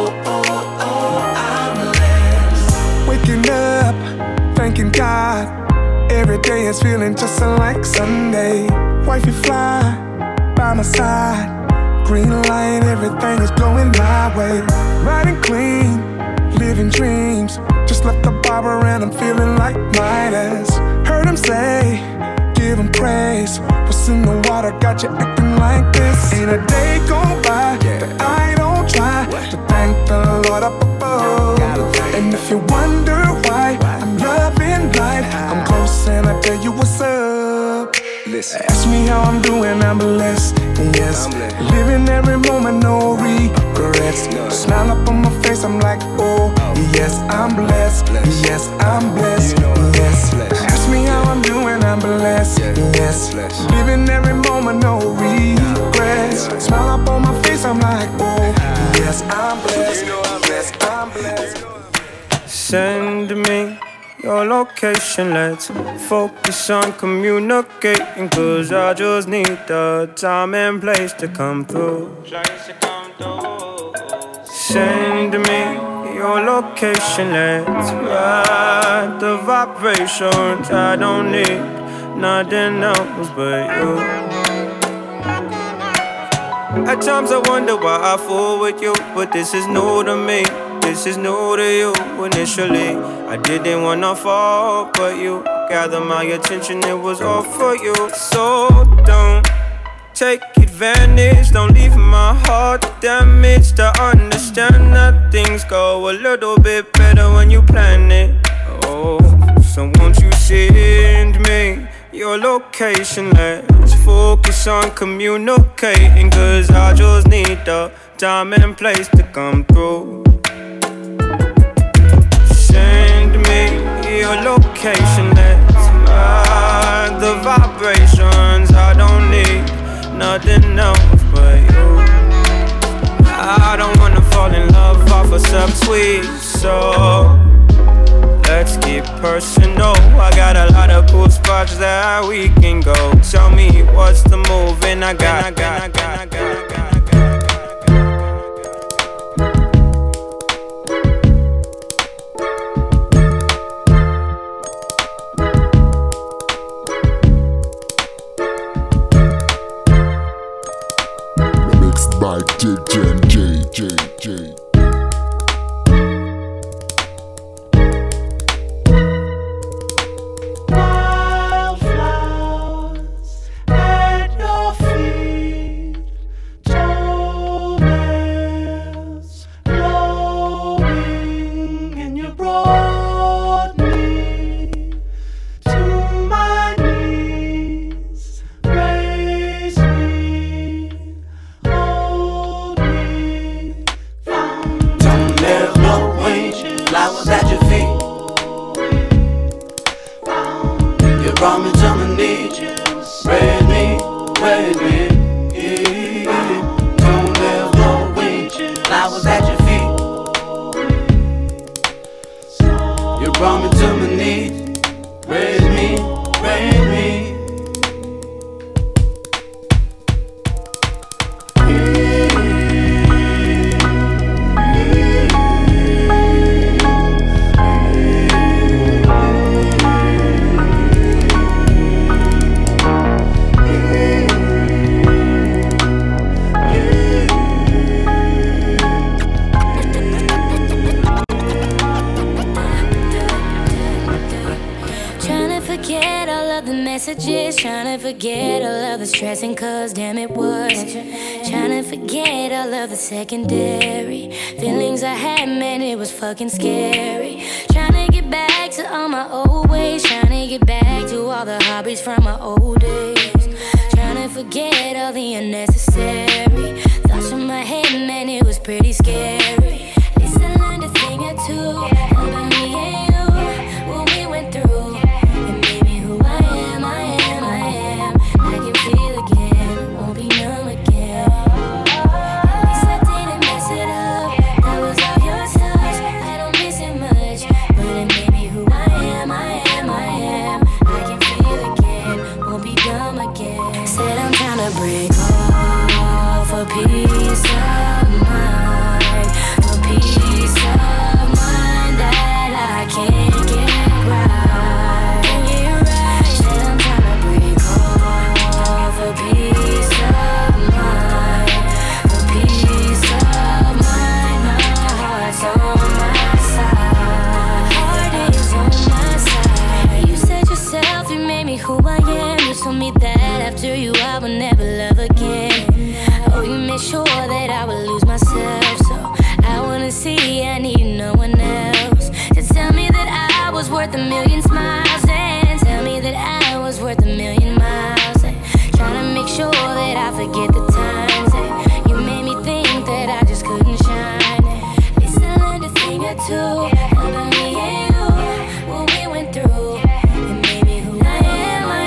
I'm blessed. Waking up, thanking God. Every day is feeling just like Sunday. Wifey fly by my side. Green light, everything is going my way. Riding clean, living dreams. Just left the barber and I'm feeling like Midas. Heard him say, give him praise. What's in the water got you acting like this? Ain't a day go by that I don't try to thank the Lord up above. And if you wonder why I'm loving life, I'm close and I tell you what's up. Listen. Ask me how I'm doing, I'm blessed, yes. Living every moment, no regrets. Smile up on my face, I'm like, oh, yes, I'm blessed, yes, I'm blessed, yes. Ask me how I'm doing, I'm blessed, yes. Living every moment, no regrets. Smile up on my face, I'm like, oh, yes, I'm blessed, yes, I'm blessed. Send me your location, let's focus on communicating, cause I just need the time and place to come through. Send me your location, let's ride the vibrations. I don't need nothing else but you. At times I wonder why I fool with you, but this is new to me. This is new to you. Initially, I didn't wanna fall, but you gathered my attention, it was all for you. So don't take advantage, don't leave my heart damaged. I understand that things go a little bit better when you plan it. Oh, so won't you send me your location? Let's focus on communicating, cause I just need the time and place to come through. Send me your location, let's ride the vibrations. I don't need nothing else but you. I don't wanna fall in love off of some tweet, so let's get personal. I got a lot of cool spots that we can go. Tell me what's the move, and I got. By JJ. Wildflowers at your feet, toenails, blow forget all of the stressing, cause damn it was. Trying to forget all of the secondary feelings I had, man, it was fucking scary. Trying to get back to all my old ways, trying to get back to all the hobbies from my old days. Trying to forget all the unnecessary thoughts from my head, man, it was pretty scary. At least I learned a thing or two about me and you, what we went through. And maybe who I am, I can feel again, won't be numb again. At least I didn't mess it up, that was all your touch. I don't miss it much, but it made me who I am, I can feel again, won't be dumb again. Said I'm trying to break off for peace of mind, for peace of mind that I can't get right. Said I'm trying to break off for peace of mind, for peace of mind. My heart's on my side, heart is on my side. You said yourself, you made me who I am. You told me that after you I would never love again. Oh, you made sure that I would lose myself, so I wanna see I need no one else to tell me that I was worth a million smiles, and tell me that I was worth a million miles, and trying to make sure that I forget the times that you made me think that I just couldn't shine. At least I learned a thing or two about me and you, what we went through. And maybe who I am, I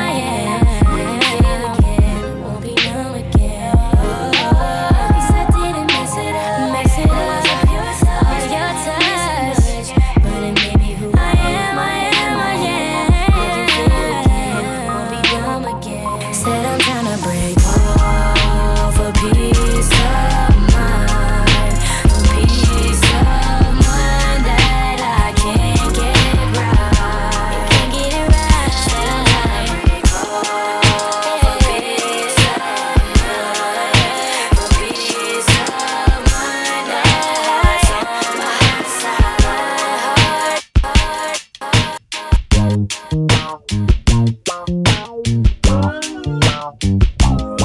can feel again, won't be numb again. At least I didn't mess it up, all your touch. But it made me who I am, I can feel again, won't be dumb again. Said I'm trying to break off for peace of mind, for peace of mind that I can't get right, can't get it right. Said I'm trying to break off for peace of mind, for peace of mind. My heart's on my side, heart.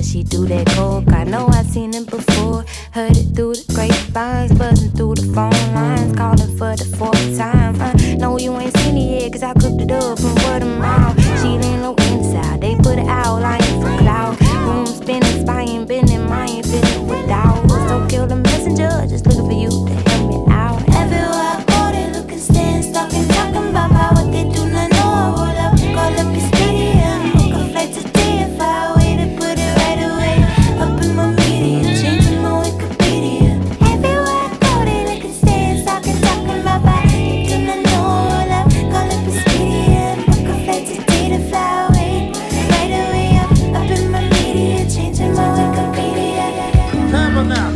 does she do that coke? I know I've seen it before. Heard it through the grapevines, buzzing through the phone lines, calling for the fourth time. No, you ain't seen it yet, cause I cooked it up from word of mouth. She ain't low inside, they put it out, lying for clout. Room spinning, spying, bending, mind, feeling without. So kill the messenger, just looking for you to help me out. Everywhere I go, they looking, staying stuck and talking about what they do not know. I roll up, call up your stadium, book a flight today. If I wait to put it right away, up in my media, changing my Wikipedia. Everywhere I go, they looking, staying stuck and talking about what they do not know. I roll up, call up your stadium, book a flight today to fly away, right away, up in my media, changing my Wikipedia. Never now.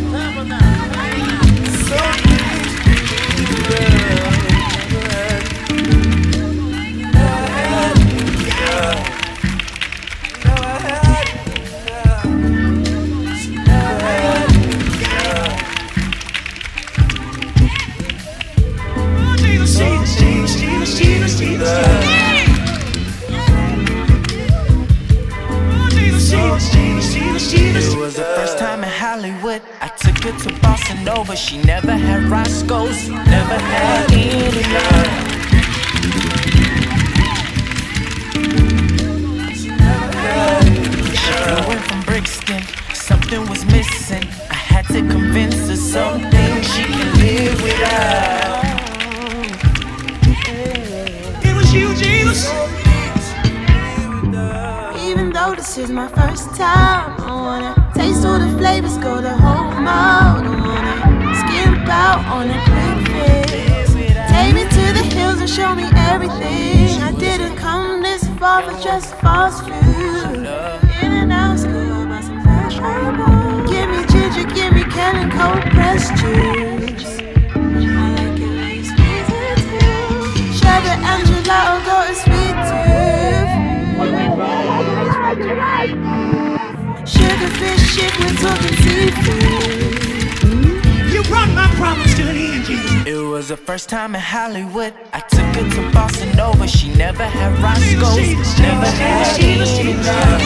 It was the first time in Hollywood. I took her to Boston Nova. She never had Roscoe's, never had any love. She flew in from Brixton, something was missing. I had to convince her something she can live without. It was you, Jesus. Even though this is my first time, I wanna taste all the flavors, go the whole mile. I wanna skip out on a quick fix. Take me to the hills and show me everything. I didn't come this far for just fast food. In and out, school, buy some fresh trouble. Give me ginger, give me Cannon cold pressed juice. I like it when you squeeze it too. Sherbet and gelato, got a sweet tooth. Sugarfish shit, we're talking seafood. You brought my problems to an end, Jesus. It was the first time in Hollywood. I took her to Boston Nova. She never had Roscoe's, never had any love.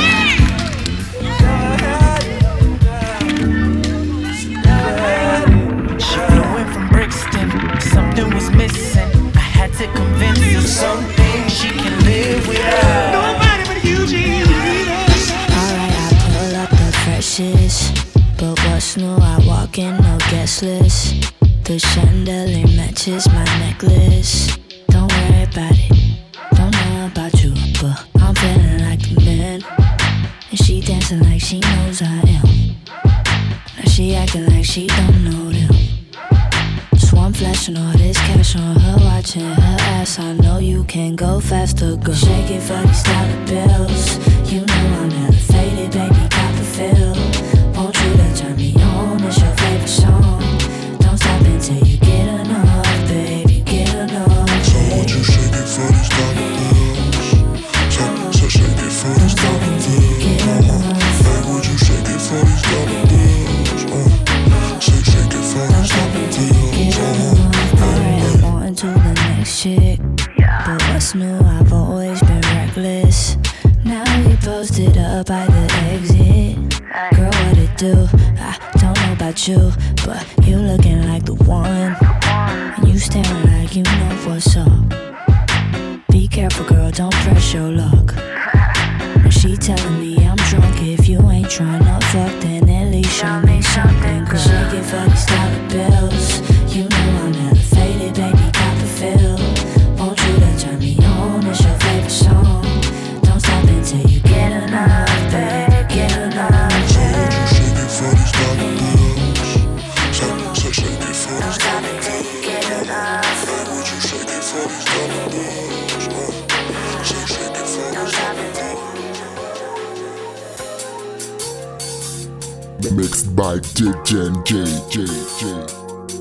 She flew in from Brixton, something was missing. I had to convince her something she can live without. Nobody but you, Jesus. Alright, I pull up the freshest, but what's new? I walk in, no guest list. The chandelier matches my necklace. Don't worry about it, don't know about you, but I'm feeling like a man. And she dancing like she knows I am. Now she acting like she don't know them. So I'm flashing all this cash on her, watching her ass. I know you can go faster, girl. Shake it for these dollar bills. You know I'm elevated, baby, got the feel. Want you to turn me on, it's your favorite song. Don't stop until you get enough, baby, get enough. So won't you shake it for these dollar bills? So shake it for these dollar bills. Hey, would you shake it for these dollar bills? Shake it for these dollar bills. Alright, I'm on to the next chick. But what's new? I've always been reckless. Now we posted up by the exit. Girl, what it do? I don't know about you, but you looking like the one. And you staring like you know what's up. Be careful, girl, don't press your luck. And she telling me I'm drunk. If you ain't tryna fuck, then at least show me something, girl. Shake it for these dollar bills. You know I'm elevated, baby, got the feel. Want you to turn me on, it's your favorite song. Don't stop until you get enough, baby, get enough. So would you shake it for these dollar bills? So shake it for these dollar bills. Hey, would you shake it for these dollar bills? Shake it for these dollar bills. Mixed by JJ.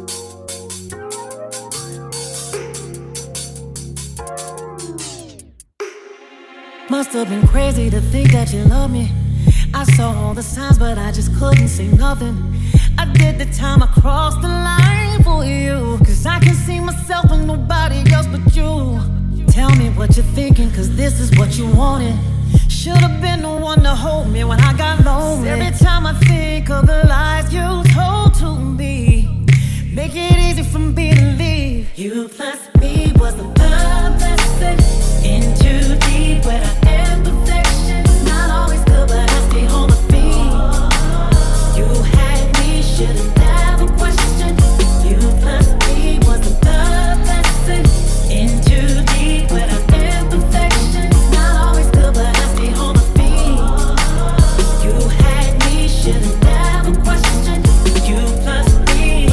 Must have been crazy to think that you love me. I saw all the signs, but I just couldn't say nothing. I did the time, I crossed the line for you. Cause I can see myself in nobody else but you. Tell me what you're thinking, cause this is what you wanted. Should've been the one to hold me when I got lonely. Every time I think of the lies you told to me, make it easy for me to leave. You plus me was the blessing. In too deep where I am perfection. Not always good, but I stay on my feet. You had me, should've never questioned. You plus me was the blessing. In too deep where I am perfection. Not always good, but I stay on my feet. You had me, should've never questioned. You plus me.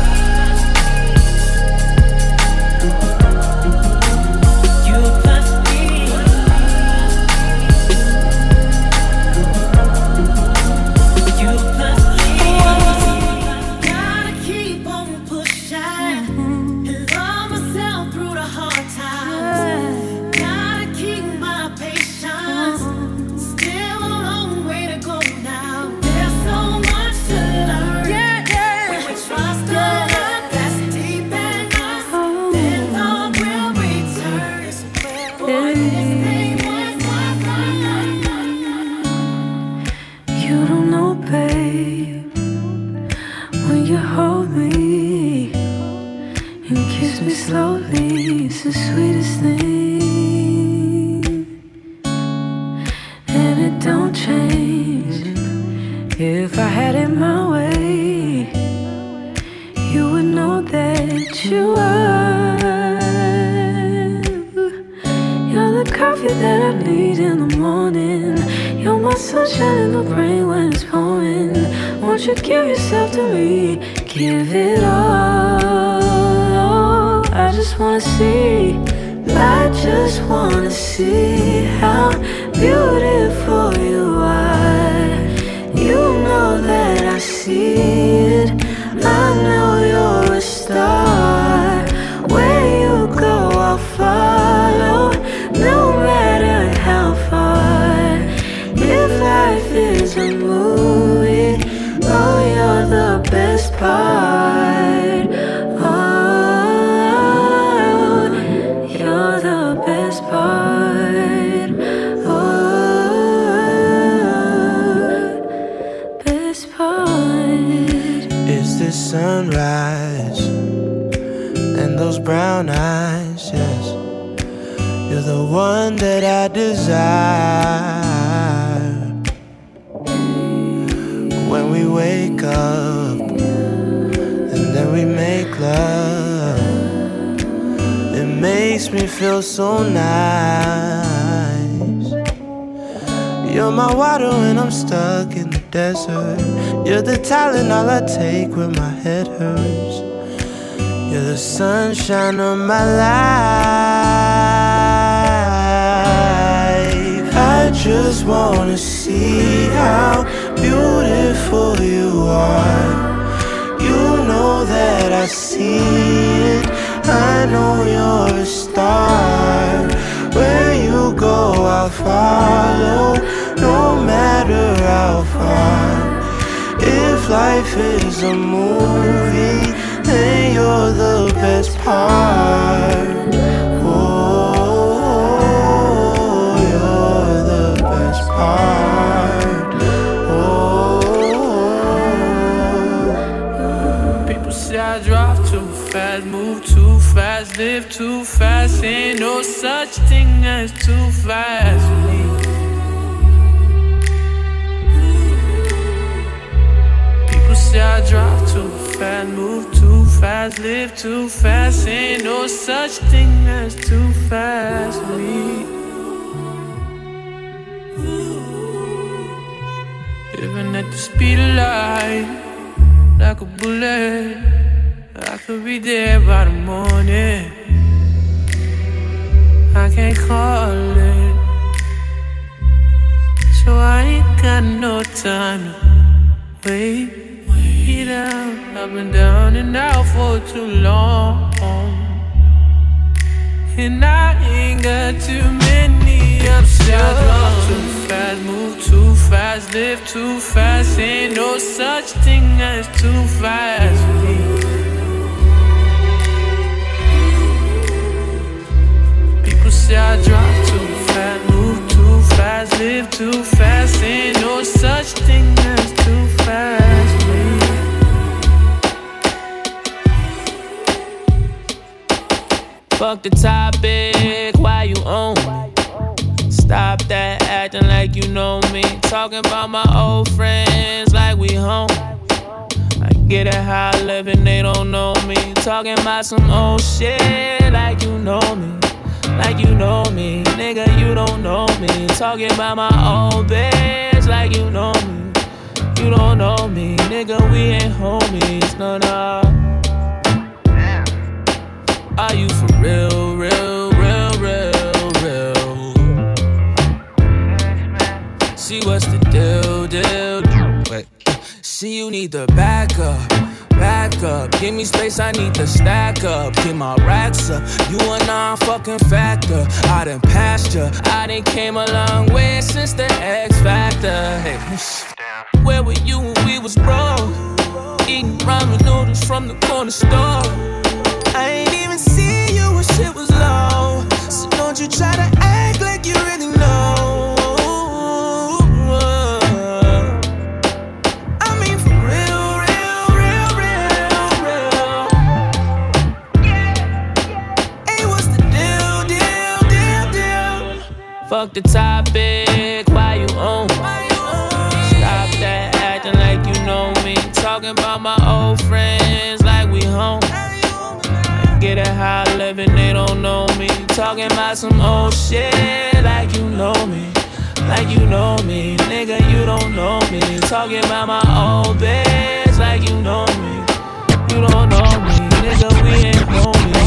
Slowly, it's the sweetest thing, and it don't change. If I had it my way, you would know that you are. You're the coffee that I need in the morning. You're my sunshine in the rain when it's pouring. Won't you give yourself to me? Give it all. I just wanna see, I just wanna see how beautiful you are. You know that I see it, I know you're a star. Where you go, I'll follow, no matter how far. If life is a movie, oh, you're the best part. Sunrise and those brown eyes, yes, you're the one that I desire. When we wake up and then we make love, it makes me feel so nice. You're my water when I'm stuck in the desert. You're the Tylenol I take when my head hurts. You're the sunshine of my life. I just wanna see how beautiful you are. You know that I see it, I know you're a star. Where you go, I'll follow, no matter how far. If life is a movie, then you're the best part. Oh, you're the best part. Oh. People say I drive too fast, move too fast, live too fast. Ain't no such thing as too fast for me. I drive too fast, move too fast, live too fast. Ain't no such thing as too fast for me. Living at the speed of light, like a bullet. I could be there by the morning. I can't call it, so I ain't got no time to wait. I've been down and out for too long, and I ain't got too many options. I drive too fast, move too fast, live too fast. Ain't no such thing as too fast for me. People say I drive too fast, move too fast, live too fast. Ain't no such thing as too fast, baby. Fuck the topic, why you on me? Stop that acting like you know me. Talking about my old friends like we home. I get it how I live and they don't know me. Talking about some old shit like you know me. Like you know me, nigga, you don't know me. Talking about my old bitch like you know me. You don't know me, nigga, we ain't homies, no, no. Are you for real, real, real, real, real? See what's the deal, deal? Wait, see you need to back up. Back up, give me space, I need to stack up. Get my racks up, you a non-fucking factor. I done passed ya, I done came a long way since the X Factor. Hey, where were you when we was broke? Eating ramen noodles from the corner store. I ain't even see you when shit was low. So don't you try to act like you really know. Fuck the topic, why you on? Stop that acting like you know me. Talking about my old friends like we home. I get it how I live and they don't know me. Talking about some old shit like you know me. Like you know me, nigga, you don't know me. Talking about my old bitch like you know me. You don't know me, nigga, we ain't homies.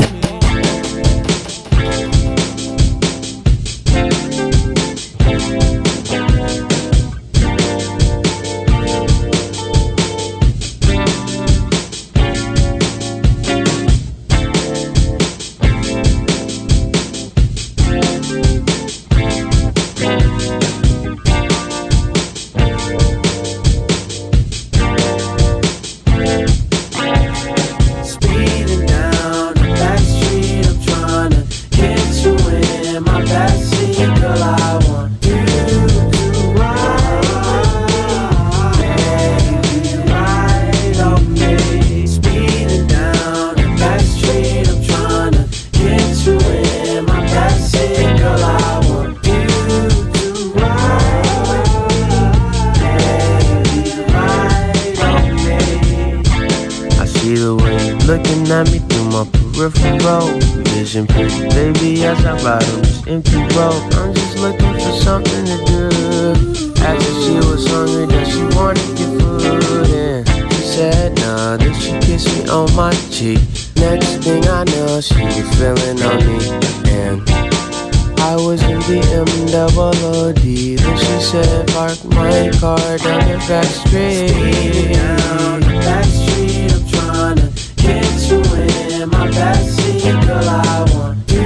Vision pretty baby as I ride on this empty road. I'm just looking for something to do. After she was hungry, then she wanted to get food. And she said nah, then she kissed me on my cheek. Next thing I know, she was feeling on me. And I was in BMW. Then she said park my car down the back street. Speeding down the back street, I'm trying to get you in my backseat. Girl, I want you to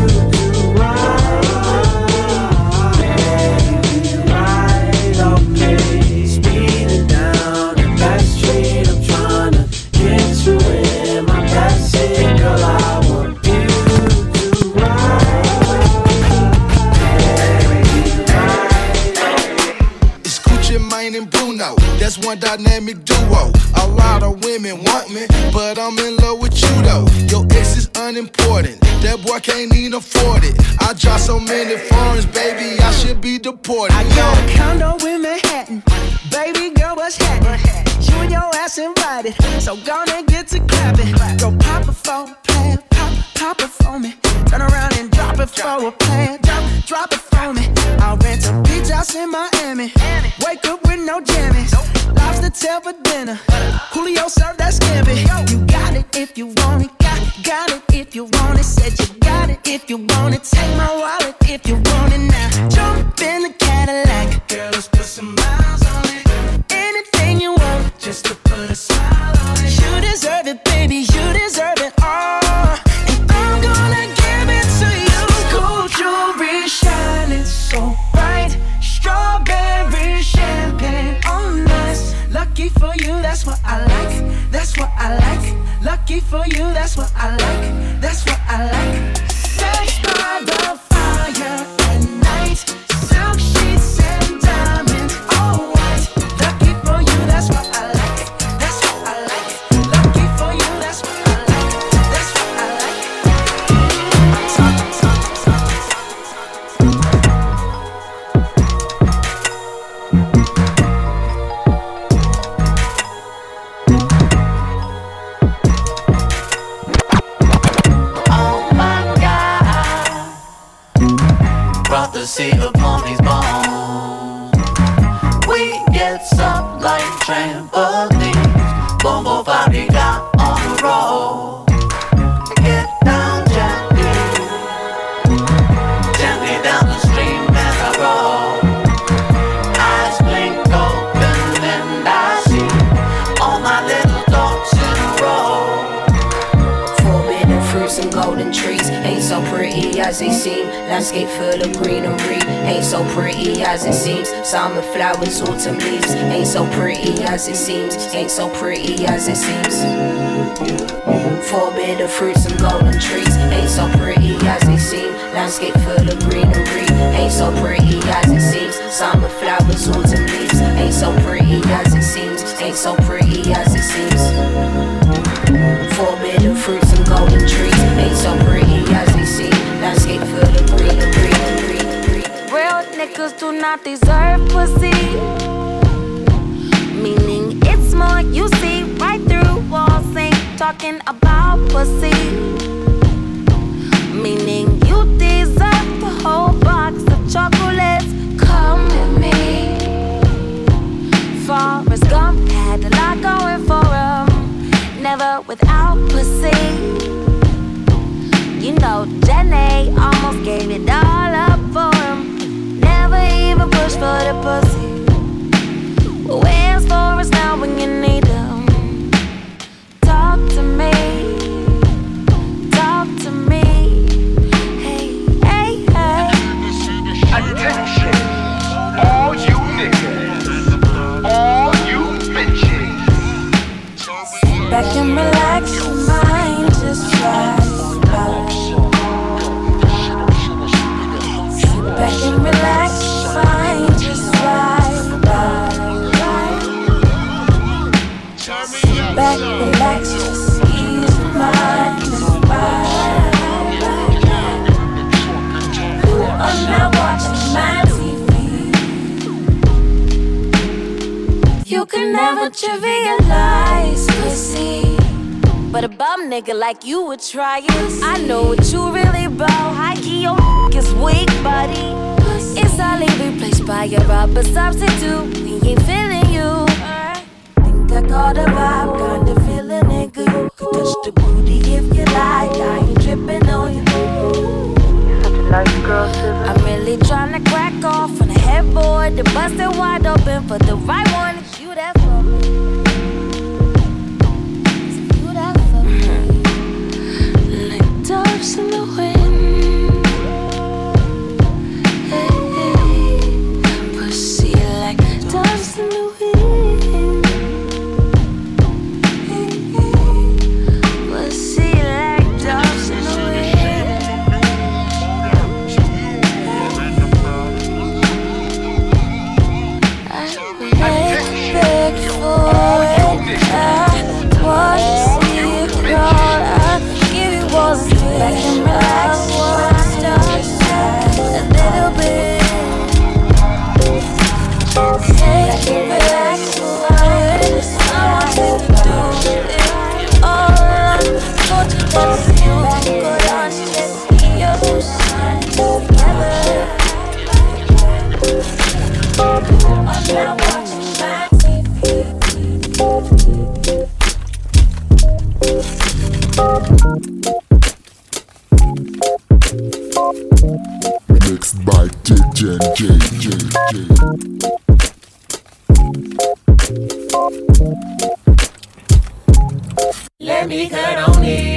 ride, baby, ride on me. Speeding down the back street, I'm trying to get you in my backseat. Girl, I want you to ride. It's Gucci Mane and Bruno, that's one dynamic duo. A lot of women want me, but I'm in love with you though. Your ex is unimportant, that boy can't even afford it. I drive so many foreigns, baby, I should be deported. I got a condo in Manhattan, baby girl, what's happening? You and your ass invited, so gonna get to clapping. Go pop it for a plan, pop it for me. Turn around and drop it for a plan, drop it for me. I'll rent a beach house in Miami, wake up with no jammies. Lobster tail for dinner, Julio served that scampi. You got it if you want it, got it if you want it. Said you got it if you want it. Take my wallet if you want it now. Jump in the Cadillac, girl, let's put some miles on it. Anything you want, just to put a smile on it. You deserve it, baby, you deserve it all. And I'm gonna give it to you. Gold jewelry shining so bright, strawberry champagne on us. Lucky for you, that's what I like. That's what I like. Lucky for you, that's what I like. That's what I like. Sex by the fire at night, silk sheets pussy upon these bones. We get up like trampolines. Bongo Bobby got on the road. Get down gently, gently down the stream as I roll. Eyes blink open and I see all my little thoughts in a row. Forbidden fruits and golden trees ain't so pretty as they seem. Landscape full of greenery ain't so pretty as it seems. Summer flowers, autumn leaves ain't so pretty as it seems. Ain't so pretty as it seems. Forbidden fruits and golden trees ain't so pretty as they seem. Landscape full of greenery ain't so pretty as it seems. Summer flowers, autumn leaves ain't so pretty as it seems. Ain't so pretty as it seems. Forbidden fruits and golden trees ain't so pretty as they seem. Landscape full of greenery. Real niggas do not deserve pussy. Meaning it's more you see right through walls. Ain't talking about pussy. Meaning you deserve the whole box of chocolates. Come with me. Forrest Gump had a lot going for him. Never without pussy. You know Jenny almost gave it all up for him. Never even pushed for the pussy. Where's Forrest now when you need him? Talk to me. Talk to me. Hey, hey, hey. Attention, all you niggas, all you bitches. Back and relax your mind, just try. Sit back and relax your mind, just ride by. Sit back, relax, just ease your mind and ride. I'm not watching my TV. You can never trivialize pussy, but a bum nigga like you would try it. I know what you really about. High key, your is weak, buddy. It's only replaced by a rubber substitute. We ain't feeling you. Think I got a vibe, kinda feeling it good. Could touch the booty if you like. I ain't tripping on you. Such a nice girl, I'm really tryna crack off on the headboard. The busted wide open for the right one. It's you that for me. Doves in the wind, hey, hey. Pussy like doves in the wind, hey, hey. Pussy like doves in the wind. I beg for it, I want to see it crawl. I give you all the back and relax, stop a little bit. Take it, relax, I want you to do it all alone. Go to the you, go down to your side together. I'm not watching my TV. Mixed by JJ. Let me cut on it.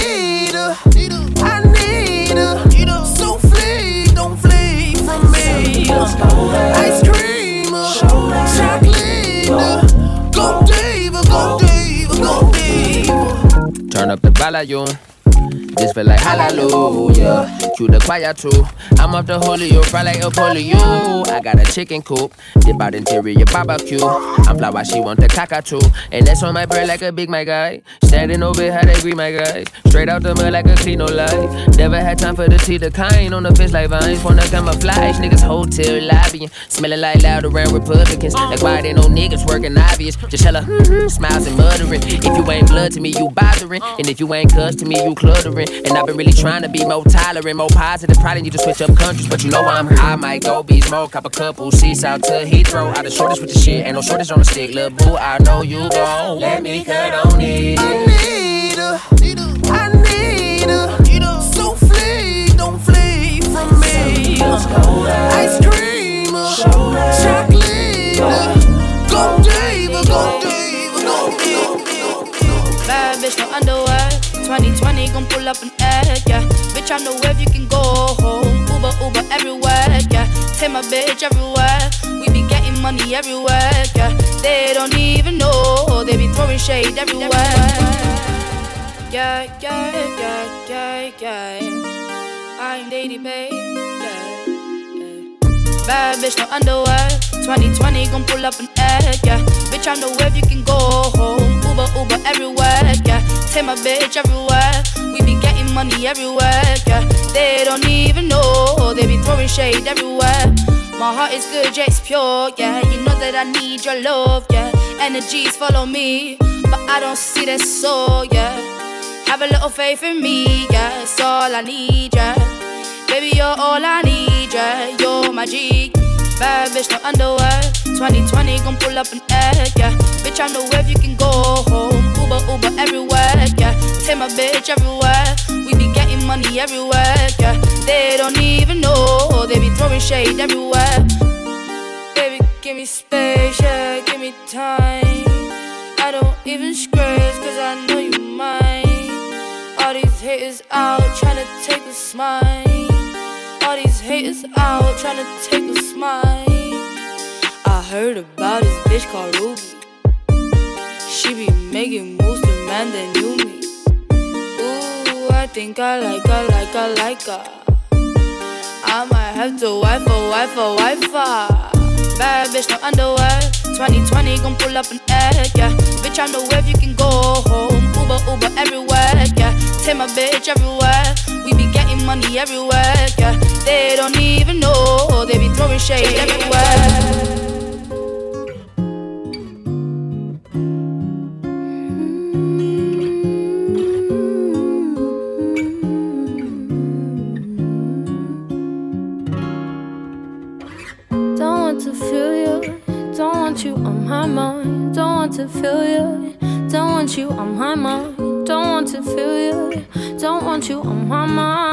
I need her. So flee, don't flee from me. Ice cream, chocolate. Go diva, go diva, go diva. Turn up the volume. This feel like hallelujah. Cue the choir too. I'm off the Julio, fry like a polio. I got a chicken coop, dip out interior barbecue. I'm fly while she want the cockatoo. And that's on my bread like a big my guy. Standing over how they greet my guys. Straight out the mud like a clean no life. Never had time for the tea, the kind on the fence like vines. Wanna camouflage, niggas hotel lobbying. Smelling like loud around Republicans. Like why they no niggas working obvious. Just hella smiles and muttering. If you ain't blood to me, you bothering. And if you ain't cuss to me, you cluttering. inspiring. And I've been really trying to be more tolerant, more positive. Probably need to switch up countries, but you know I'm here. I might go beach mode, cop a couple seats out to Heathrow. Out the shortest with the shit, ain't no shortage on the stick. Lil' boo, I know you gon' let me cut on it. I need her, souffle, don't flee from me. Ice cream, chocolate, go Dave, go Dave, go Dave. Bad bitch, no underwear. 2020 gon' pull up an egg, yeah. Bitch, I know where you can go home. Uber everywhere, yeah. Take my bitch everywhere. We be getting money everywhere, yeah. They don't even know. They be throwing shade everywhere. Yeah. I'm Daddy, babe, yeah. Bad bitch, no underwear. 2020 gon' pull up an egg, yeah. Bitch, I know where you can go home. Uber everywhere, yeah. Take my bitch everywhere. We be getting money everywhere, yeah. They don't even know. They be throwing shade everywhere. My heart is good, yeah, it's pure, yeah. You know that I need your love, yeah. Energies follow me, but I don't see that soul, yeah. Have a little faith in me, yeah. It's all I need, yeah. Baby, you're all I need, yeah. You're my G. Bad bitch, no underwear. 2020 gon' pull up an egg, yeah. Bitch, I know where you can go home. Uber everywhere, yeah. Take my bitch everywhere. We be getting money everywhere, yeah. They don't even know. They be throwing shade everywhere. Baby, give me space, yeah. Give me time. I don't even scratch, cause I know you mine. All these haters out tryna take a smile. All these haters out tryna take a smile. I heard about this bitch called Ruby. She be making moves to man that knew me. Ooh, I think I like her. I might have to wife her. Bad bitch, no underwear. 2020 gon' pull up an egg, yeah. Bitch, I know where you can go home. Uber everywhere, yeah. Take my bitch everywhere. We be getting money everywhere, yeah. They don't even know. They be throwing shade everywhere. You on my mind, don't want to feel you. Don't want you on my mind, don't want to feel you. Don't want you on my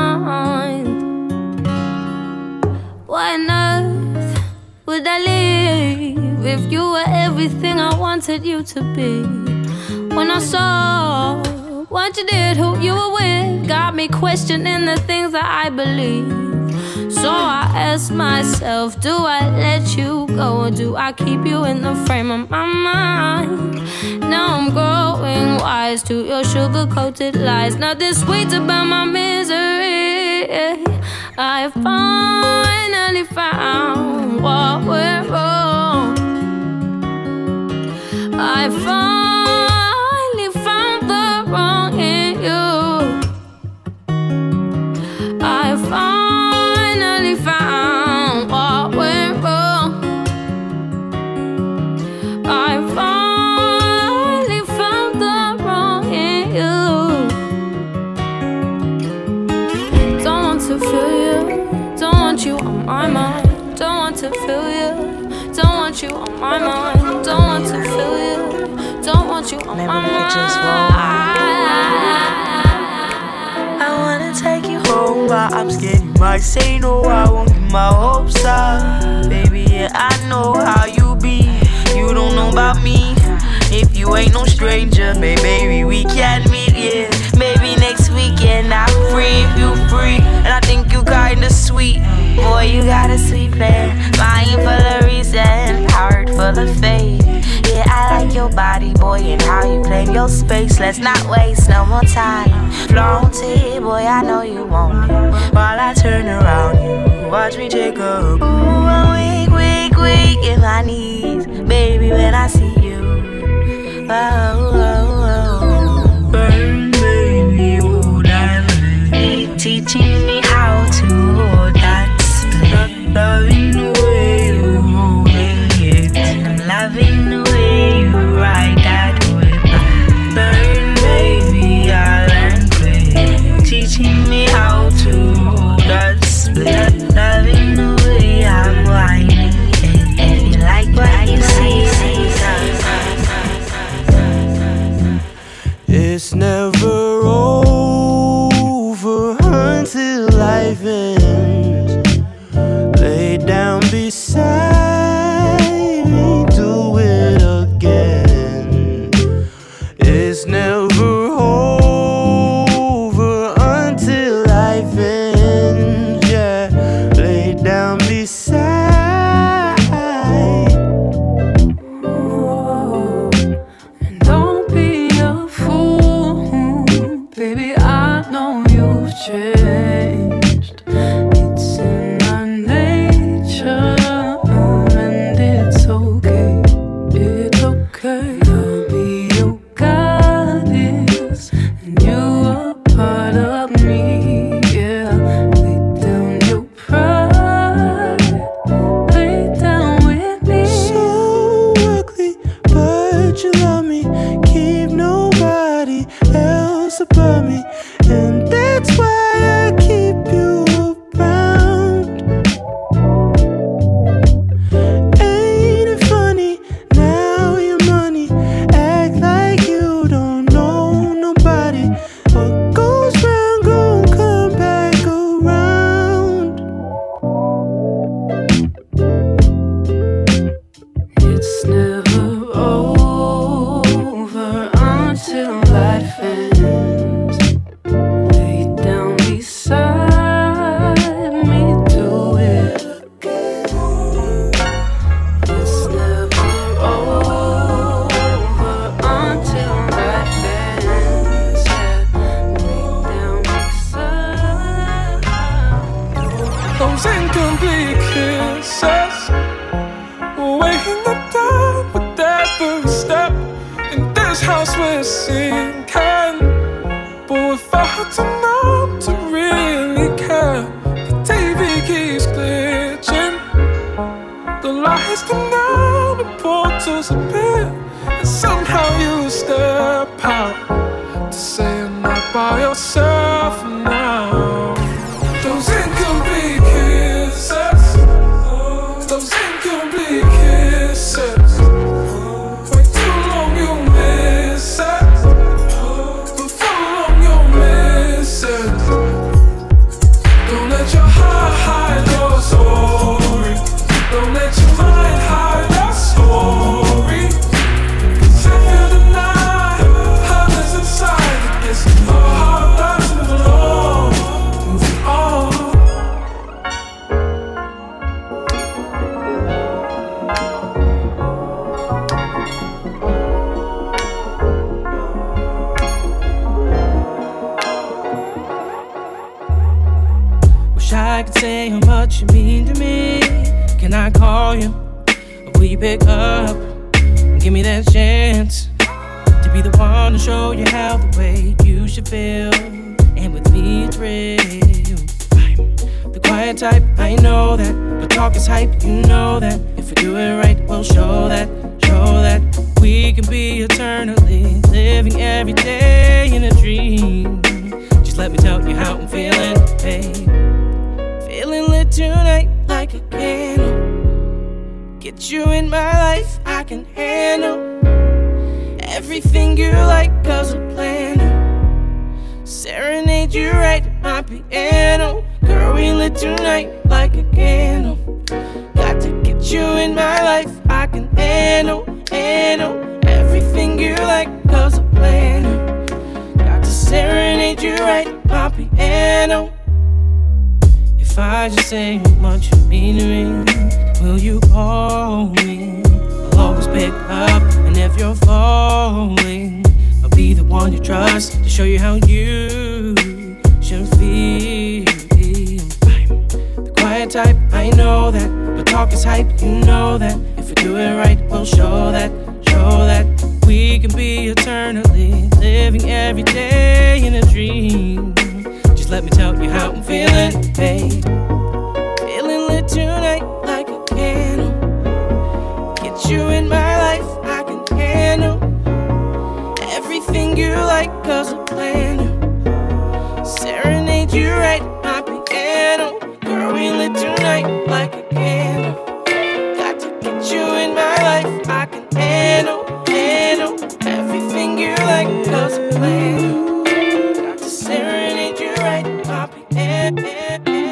mind. Why on earth would I leave if you were everything I wanted you to be? When I saw what you did, who you were with, got me questioning the things that I believe. So I ask myself, do I let you go or do I keep you in the frame of my mind? Now I'm growing wise to your sugar-coated lies. Nothing sweet about my misery. I finally found what went wrong. I finally found the wrong in you. I finally found what went wrong. I finally found the wrong in you. Don't want to feel you. Don't want you on my mind. Don't want to feel you. Don't want you on my mind. Don't want to feel you. Don't want you on my mind. I wanna take you home, but I'm scared you might say no. I won't get my hopes up. Baby, yeah, I know how you be. You don't know about me. If you ain't no stranger, baby, we can meet, yeah. Maybe next weekend I'm free if you free. And I think you kinda sweet. Boy, you got a sweet plan. Mind full of reason, heart full of faith. Yeah, I like your body, boy, and how you claim your space. Let's not waste no more time. Flaunt it, boy, I know you want it. While I turn around you, watch me take up. Ooh, I'm weak in my knees, baby, when I see you. Burn, baby, oh, diamond. Teaching me how to hold that split. Loving the way you hold it, and I'm loving the way you ride that whip. Burn, baby, I learned quick. Teach life ends. Lay down beside me, do it again. It's never over until life ends. Yeah, lay down beside. Don't be a fool, baby. I know you've changed. It's in our nature, and it's okay. It's okay. I'll be your goddess, and you are part of me. Yeah, lay down your pride, lay down with me. So ugly, but you love me. Keep nobody else above me, and that's why I keep you around. Ain't it funny? Now your money act like you don't know nobody. What goes round gon' come back around. It's never over until life ends. Lay down beside me, do it again. It's never over until life ends. Yeah, lay down beside. Those incomplete kisses, weighing the down with every step. In this house we're sinking, but we're far too numb to really care. The TV keeps glitching, the lights dim down, the portals appear, and somehow you step out to say you're not by yourself now. Those incomplete kisses, those incomplete kisses. Way too long you miss it, but for long you'll miss it. Don't let your heart hide your story. Don't let your mind hide your story. 'Cause if you deny how that's inside, it gets hard not to move along, moving on. Wish I could say how much you mean to me. Can I call you? Or will you pick up and give me that chance to be the one to show you how the way you should feel? And with me it's real. I'm the quiet type, I know that. But talk is hype, you know that. If we do it right, we'll show that. We can be eternally living every day in a dream. Just let me tell you how I'm feeling, babe. Feeling lit tonight like a candle. Get you in my life, I can handle everything you like, cause I plan to serenade you right at my piano. Girl, we lit tonight like a candle. Got to get you in my life, I can handle everything you like, cause I plan to. Got to serenade you right at my piano. If I just say how much you mean to me, will you call me? I'll always pick up, and if you're falling, I'll be the one you trust to show you how you should feel. I'm the quiet type, I know that. But talk is hype, you know that. If we do it right, we'll show that. We can be eternally living every day in a dream. Just let me tell you how I'm feeling, babe. Feeling lit tonight like a candle. Get you in my life, I can handle everything you like, cause I plan to serenade you right at my piano. Girl, we lit tonight like a candle. Got to get you in my life, I can handle everything you like, cause I plan to. Got to serenade you right at my piano.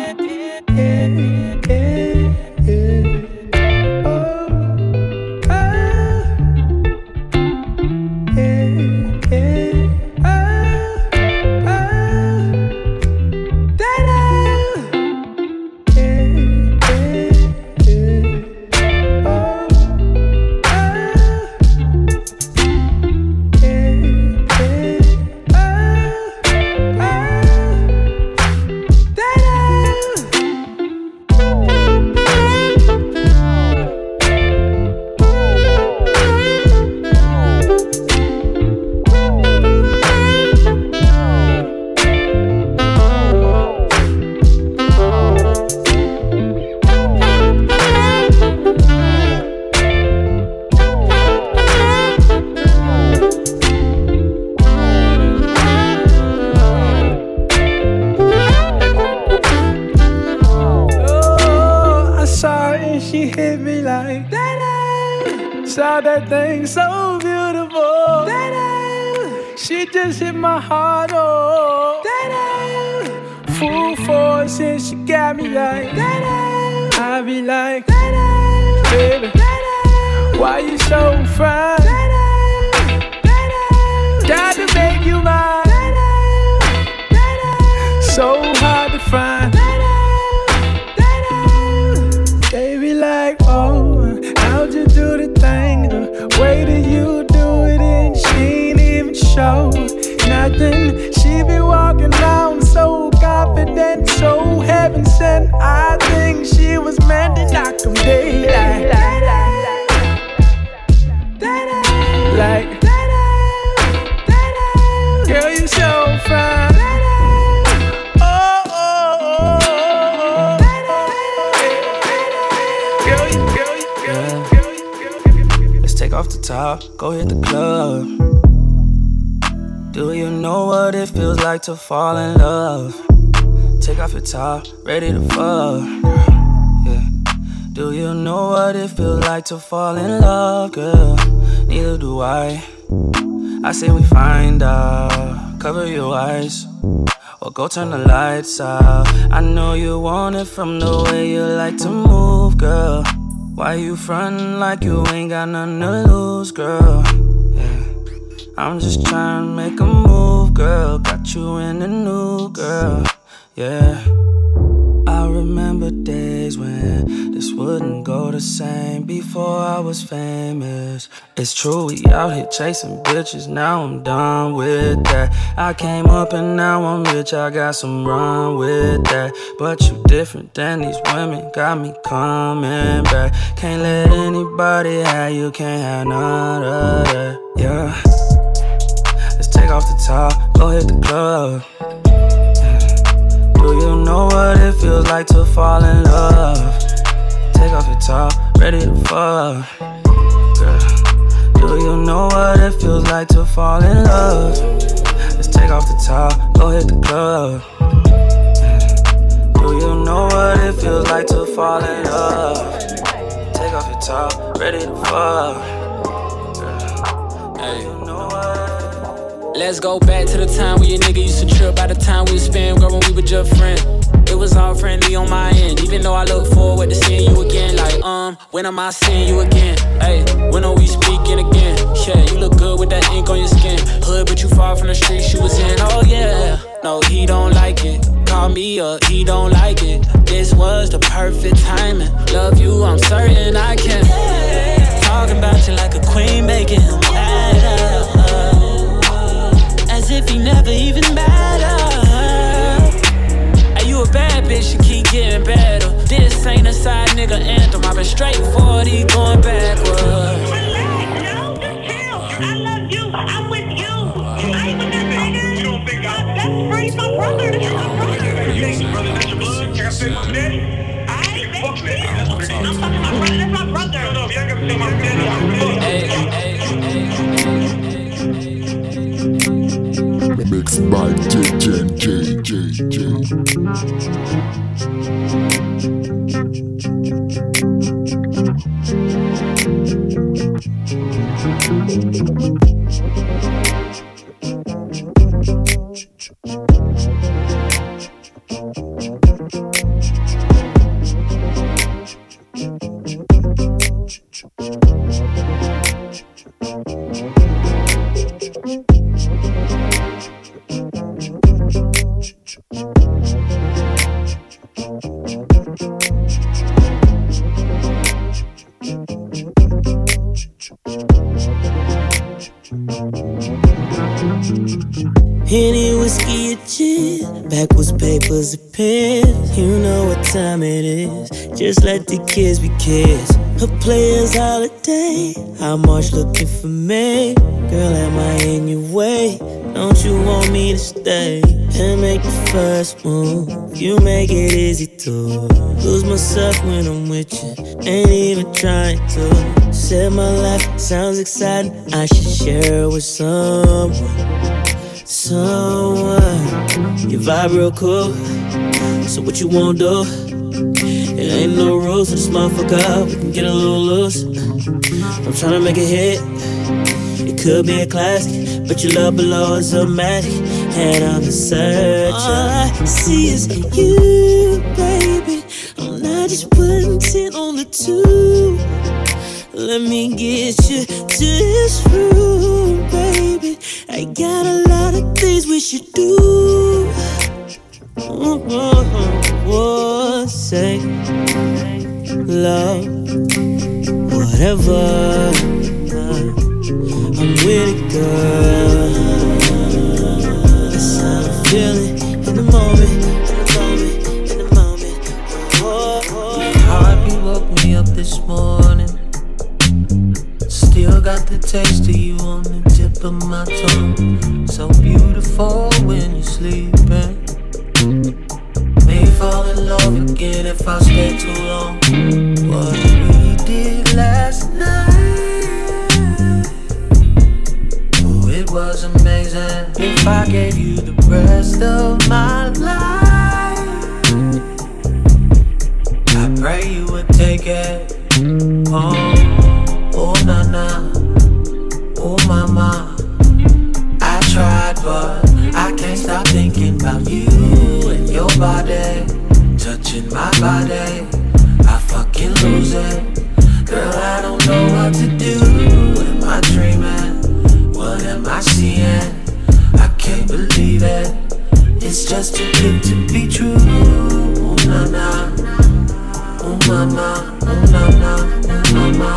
everything so beautiful. She just hit my heart, oh. Full force and she got me like, I be like, baby, why you so fine? Got to make you mine. So hard to find. Baby like, oh, how'd you do the thing? The way that you do it and she ain't even show nothing. She be walking around so confident, so heaven sent. I think she was meant to knock 'em dead. Like, girl, you so fine. Oh, oh, oh, oh. Yeah. Let's take off the top, go hit the club. Do you know what it feels like to fall in love? Take off your top, ready to fuck. Yeah. Do you know what it feels like to fall in love, girl? Neither do I. I say we find out, cover your eyes, or go turn the lights out. I know you want it from the way you like to move, girl. Why you frontin' like you ain't got nothing to lose, girl? Yeah. I'm just trying to make a move, girl. Got you in the new, girl. Yeah. I remember days when this wouldn't go the same before I was famous. It's true, we out here chasing bitches, now I'm done with that. I came up and now I'm rich, I got some run with that. But you different than these women, got me coming back. Can't let anybody have you, can't have none of that. Yeah. Let's take off the top, go hit the club. Do you know what it feels like to fall in love? Take off your top, ready to fuck. Girl, do you know what it feels like to fall in love? Let's take off the top, go hit the club. Do you know what it feels like to fall in love? Take off your top, ready to fuck. Girl, do you know what? Let's go back to the time when your nigga used to trip by the time we would spend, girl, when we were just friends. It was all friendly on my end, even though I look forward to seeing you again. Like, when am I seeing you again? Hey, when are we speaking again? Yeah, you look good with that ink on your skin. Hood, but you far from the streets you was in. Oh yeah, no, he don't like it. Call me up, he don't like it. This was the perfect timing. Love you, I'm certain I can. Talking about you like a queen, making him mad. As if he never even mattered. Hey, you a bad bitch, you keep getting better. This ain't a side nigga anthem. I've been straight 40, going backwards. I love you, I'm with you. I ain't with that nigga. You don't think that's free, my brother. That's my brother. You think brother, that's your blood? Like I said, my daddy. I ain't fuck daddy. I'm fucking my brother, that's my brother. No, if y'all gotta say my daddy, I'm Mixed by JJ. Henny, whiskey, and gin. Backwards papers and pens. You know what time it is. Just let the kids be kids. A player's holiday. How much looking for me? Girl, am I in your way? Don't you want me to stay and make the first move? You make it easy to lose myself when I'm with you. Ain't even trying to. Said my life sounds exciting. I should share it with someone. Someone, you vibe real cool. So what you wanna do? It ain't no rules to this motherfucker, we can get a little loose. I'm tryna make it hit. It could be a classic, but your love below is a magic. And I'm a searcher. All I see is you, baby. I'm not just putting 10 on the 2. Let me get you to this room, baby. I got a lot of things we should do. Say love, whatever. I'm with it, girl. That's how I'm feeling in the moment, in the moment. Your heartbeat woke me up this morning. Still got the taste of you on the tip of my tongue. So beautiful when you're sleeping. May fall in love again if I stay too long. What we did last night, oh, it was amazing. If I gave you the rest of my life, I pray you would take it. Oh, oh na na, oh mama. I tried but I can't stop thinking about you and your body, touching my body. I fucking lose it. Girl, I don't know what to do. Am I dreaming? What am I seeing? I can't believe it. It's just too good to be true. Oh na na, oh mama, oh na na, oh mama.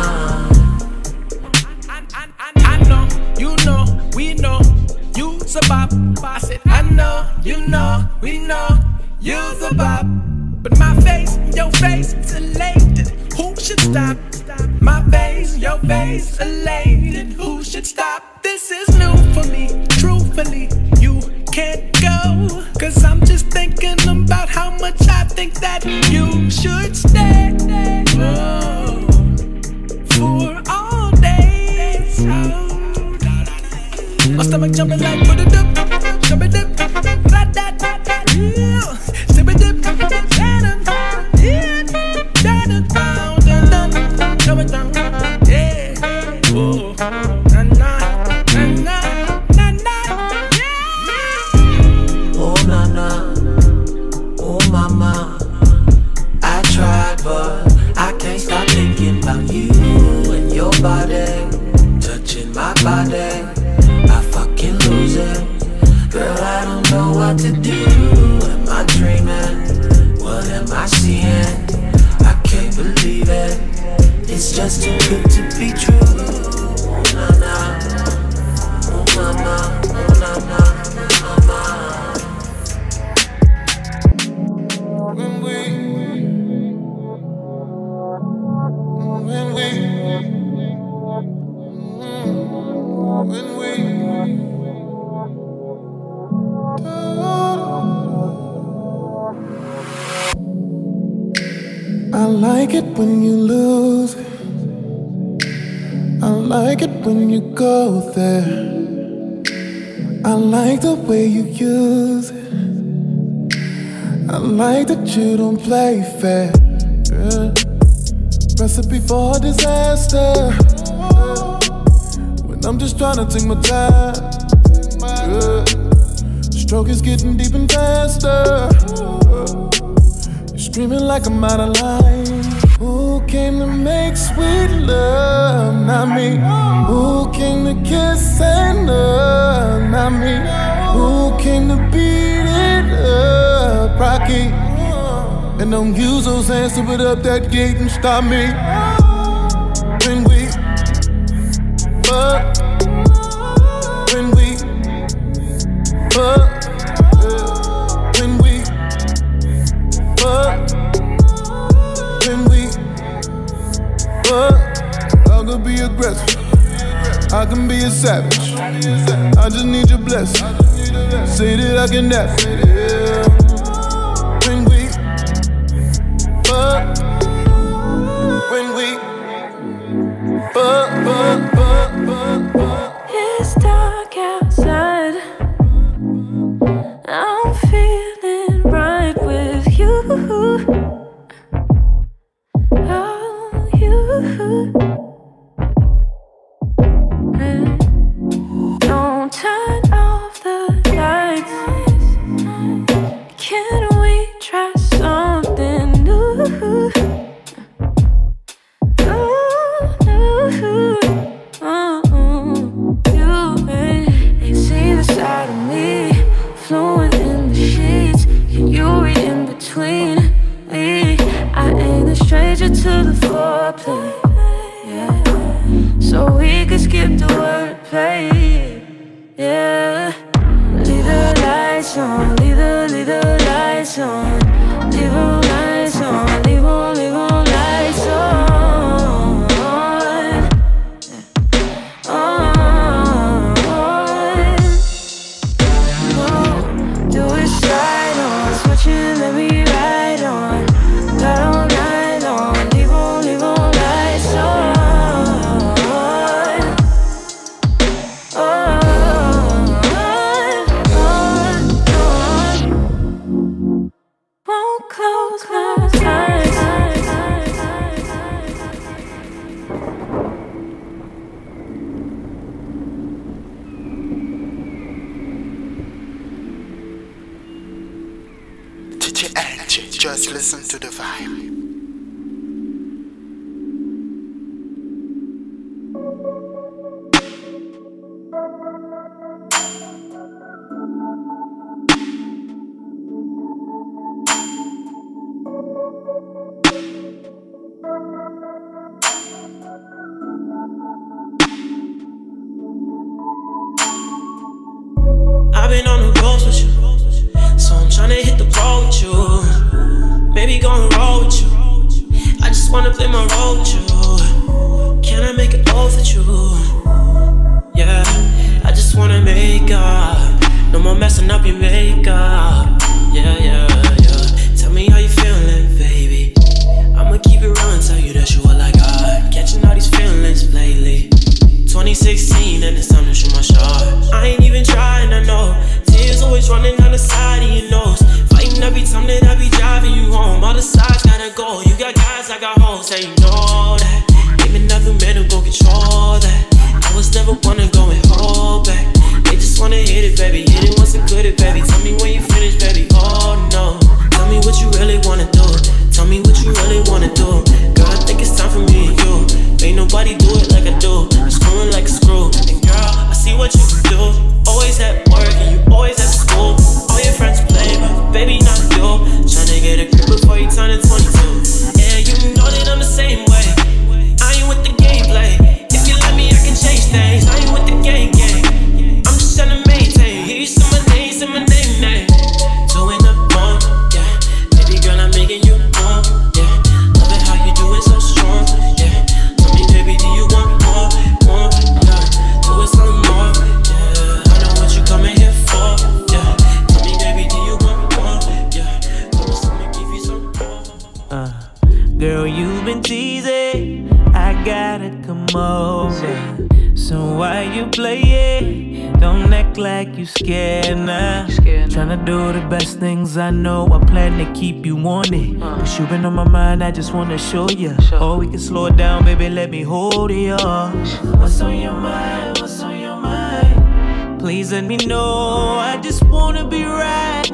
I know, you know, we know. You's a bop. I said, I know, you know, we know. You's a bop. But my face, your face is elated. Who should stop? My face, your face elated. Who should stop? This is new for me. Truthfully, you can't go. Cause I'm just thinking about how much I think that you should stay. Oh, for all days. Oh. My stomach jumping like put it up, jump it up, that, yeah, sip it up, yeah, jump it down, yeah, oh, na na, yeah. Oh na na, oh mama. I tried but I can't stop thinking about you and your body, touching my body. Lose it. Girl, I don't know what to do. Am I dreaming? What am I seeing? I can't believe it. It's just too good to be true. Oh na na, oh mama, oh na na, oh mama. When we I like it when you lose it. I like it when you go there. I like the way you use it. I like that you don't play fair. Yeah. Recipe for disaster. When I'm just trying to take my time. Yeah. Stroke is getting deep and faster. Screaming like I'm out of line. Who came to make sweet love? Not me. Who came to kiss and love? Not me. Who came to beat it up? Rocky. And don't use those hands to put up that gate and stop me. When we fuck. When we fuck. I could be aggressive, I can be a savage. I just need your blessing. Say that I can have it. Yeah. When we fuck, when we fuck. It's dark outside. I'm feeling right with you. Can we try something new? You ain't seen the side of me, fluent in the sheets. Can you read in between me? I ain't a stranger to the foreplay, yeah. So we could skip the wordplay, yeah. Leave the lights on, leave the lights on, leave the lights on, leave the lights on. Just listen to the vibe. I've been on the road with you, so I'm tryna hit the road with you. Baby, gon' roll with you. I just wanna play my role with you. Can I make it off with you? Yeah, I just wanna make up. No more messing up your makeup. Yeah, yeah, yeah. Tell me how you feeling, baby. I'ma keep it real and tell you that you all I got. Catching all these feelings lately. 2016 and it's time to shoot my shot. I ain't even trying, I know. Tears always running down the side of your nose. Fighting every time that I be driving you home. All the sides gotta go. You got guys, I got hoes, yeah, you know that. Ain't another man who gon' control that. I was never one to go and hold back. They just wanna hit it, baby. Hit it once and quit it, baby. Tell me when you finish, baby. Oh no. Tell me what you really wanna do. Tell me what you really wanna do. Girl, I think it's time for me and you. Ain't nobody do it like I do. I'm screwing like a screw. And girl, I see what you can do. Always at work and you always at school. All your friends play, but baby, not you. Tryna get a grip before you turn to 22. And you know that I'm the same way. I ain't with the gameplay. If you let me, I can change things. I ain't with the gang. I'm just tryna maintain. Hear you say my name. Doing the wrong, yeah. Baby girl, I'm making you wrong, yeah. Love it how you do it so strong, yeah. Tell me, baby, do you want more, yeah. Do it some more, yeah. I know what you coming here for, yeah. Tell me, baby, do you want more, yeah. Promise I'ma give you some more. Girl, you've been teasing, I gotta come over. So why you play it? Don't act like you scared now. Tryna do the best things I know. I plan to keep you on it. But you been on my mind, I just wanna show ya. Or we can slow it down, baby, let me hold it, What's on your mind? What's on your mind? Please let me know. I just wanna be right,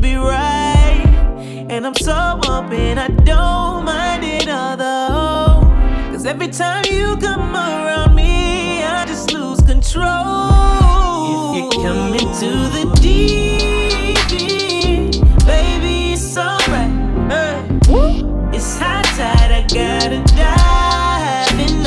And I'm so open, I don't mind it although. Cause every time you come around me, I just lose control. If you come into the deep end, baby, it's alright. It's high tide, I gotta dive in,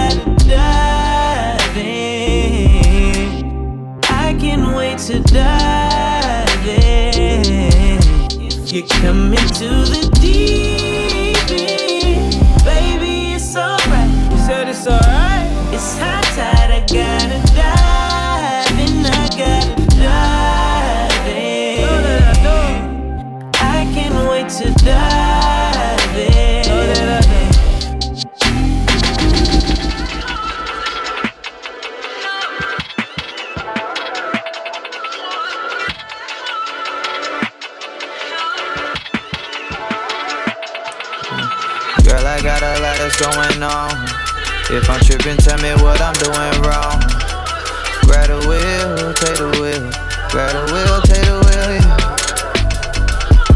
I can't wait to dive in. If you come into the deep end, baby, it's alright. You said it's alright. It's high tide, I gotta dive in, I can't wait to dive in. Girl, I got a lot that's going on. If I'm tripping, tell me what I'm doing wrong. Grab the wheel, take the wheel. Grab the wheel, take the wheel, yeah.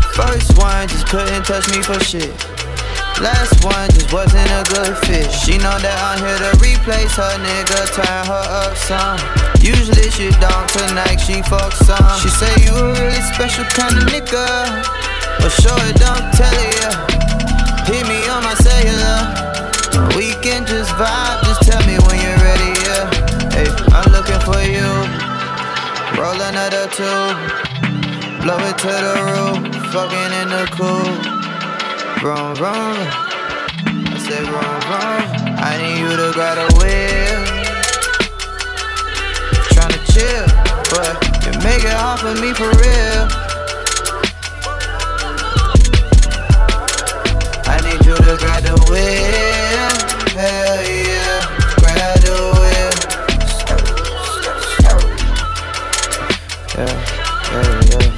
couldn't touch me for shit. Last one just wasn't a good fit. She know that I'm here to replace her nigga, turn her up some. Usually she don't, tonight she fuck some. She say you a really special kind of nigga, but sure it don't tell ya. Hit me on my cellular. We can just vibe, just tell me when you're ready, yeah. Hey, I'm looking for you. Roll another two, blow it to the roof, fucking in the cool. Vroom, vroom. I said vroom, vroom. I need you to grab a wheel. Tryna chill, but you make it hard for me for real. I need you to grab the wheel. Hell yeah, grab the wheel. Yeah.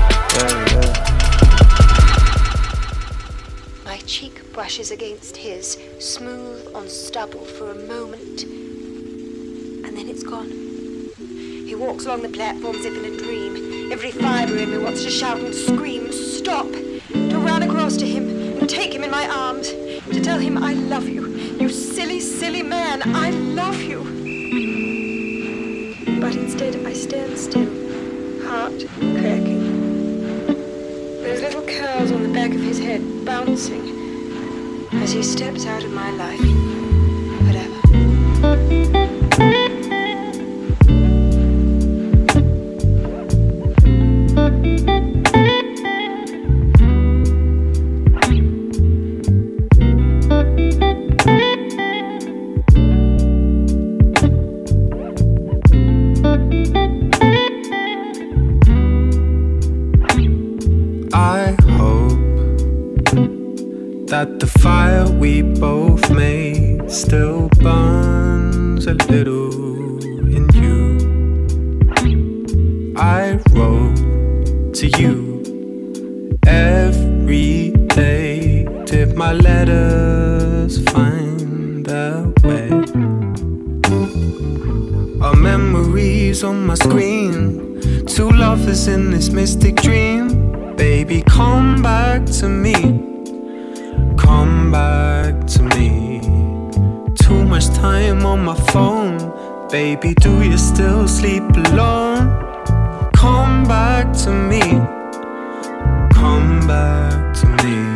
My cheek brushes against his, smooth on stubble for a moment, and then it's gone. He walks along the platform as if in a dream. Every fibre in me wants to shout and scream, stop, to run across to him and take him in my arms, to tell him I love you. You silly, silly man, I love you. But instead I stand still, heart cracking. Those little curls on the back of his head bouncing as he steps out of my life. That the fire we both made still burns a little in you. I wrote to you every day. Did my letters find their way? Our memories on my screen, two lovers in this mystic dream. Baby, come back to me. Come back to me. Too much time on my phone. Baby, do you still sleep alone? Come back to me. Come back to me.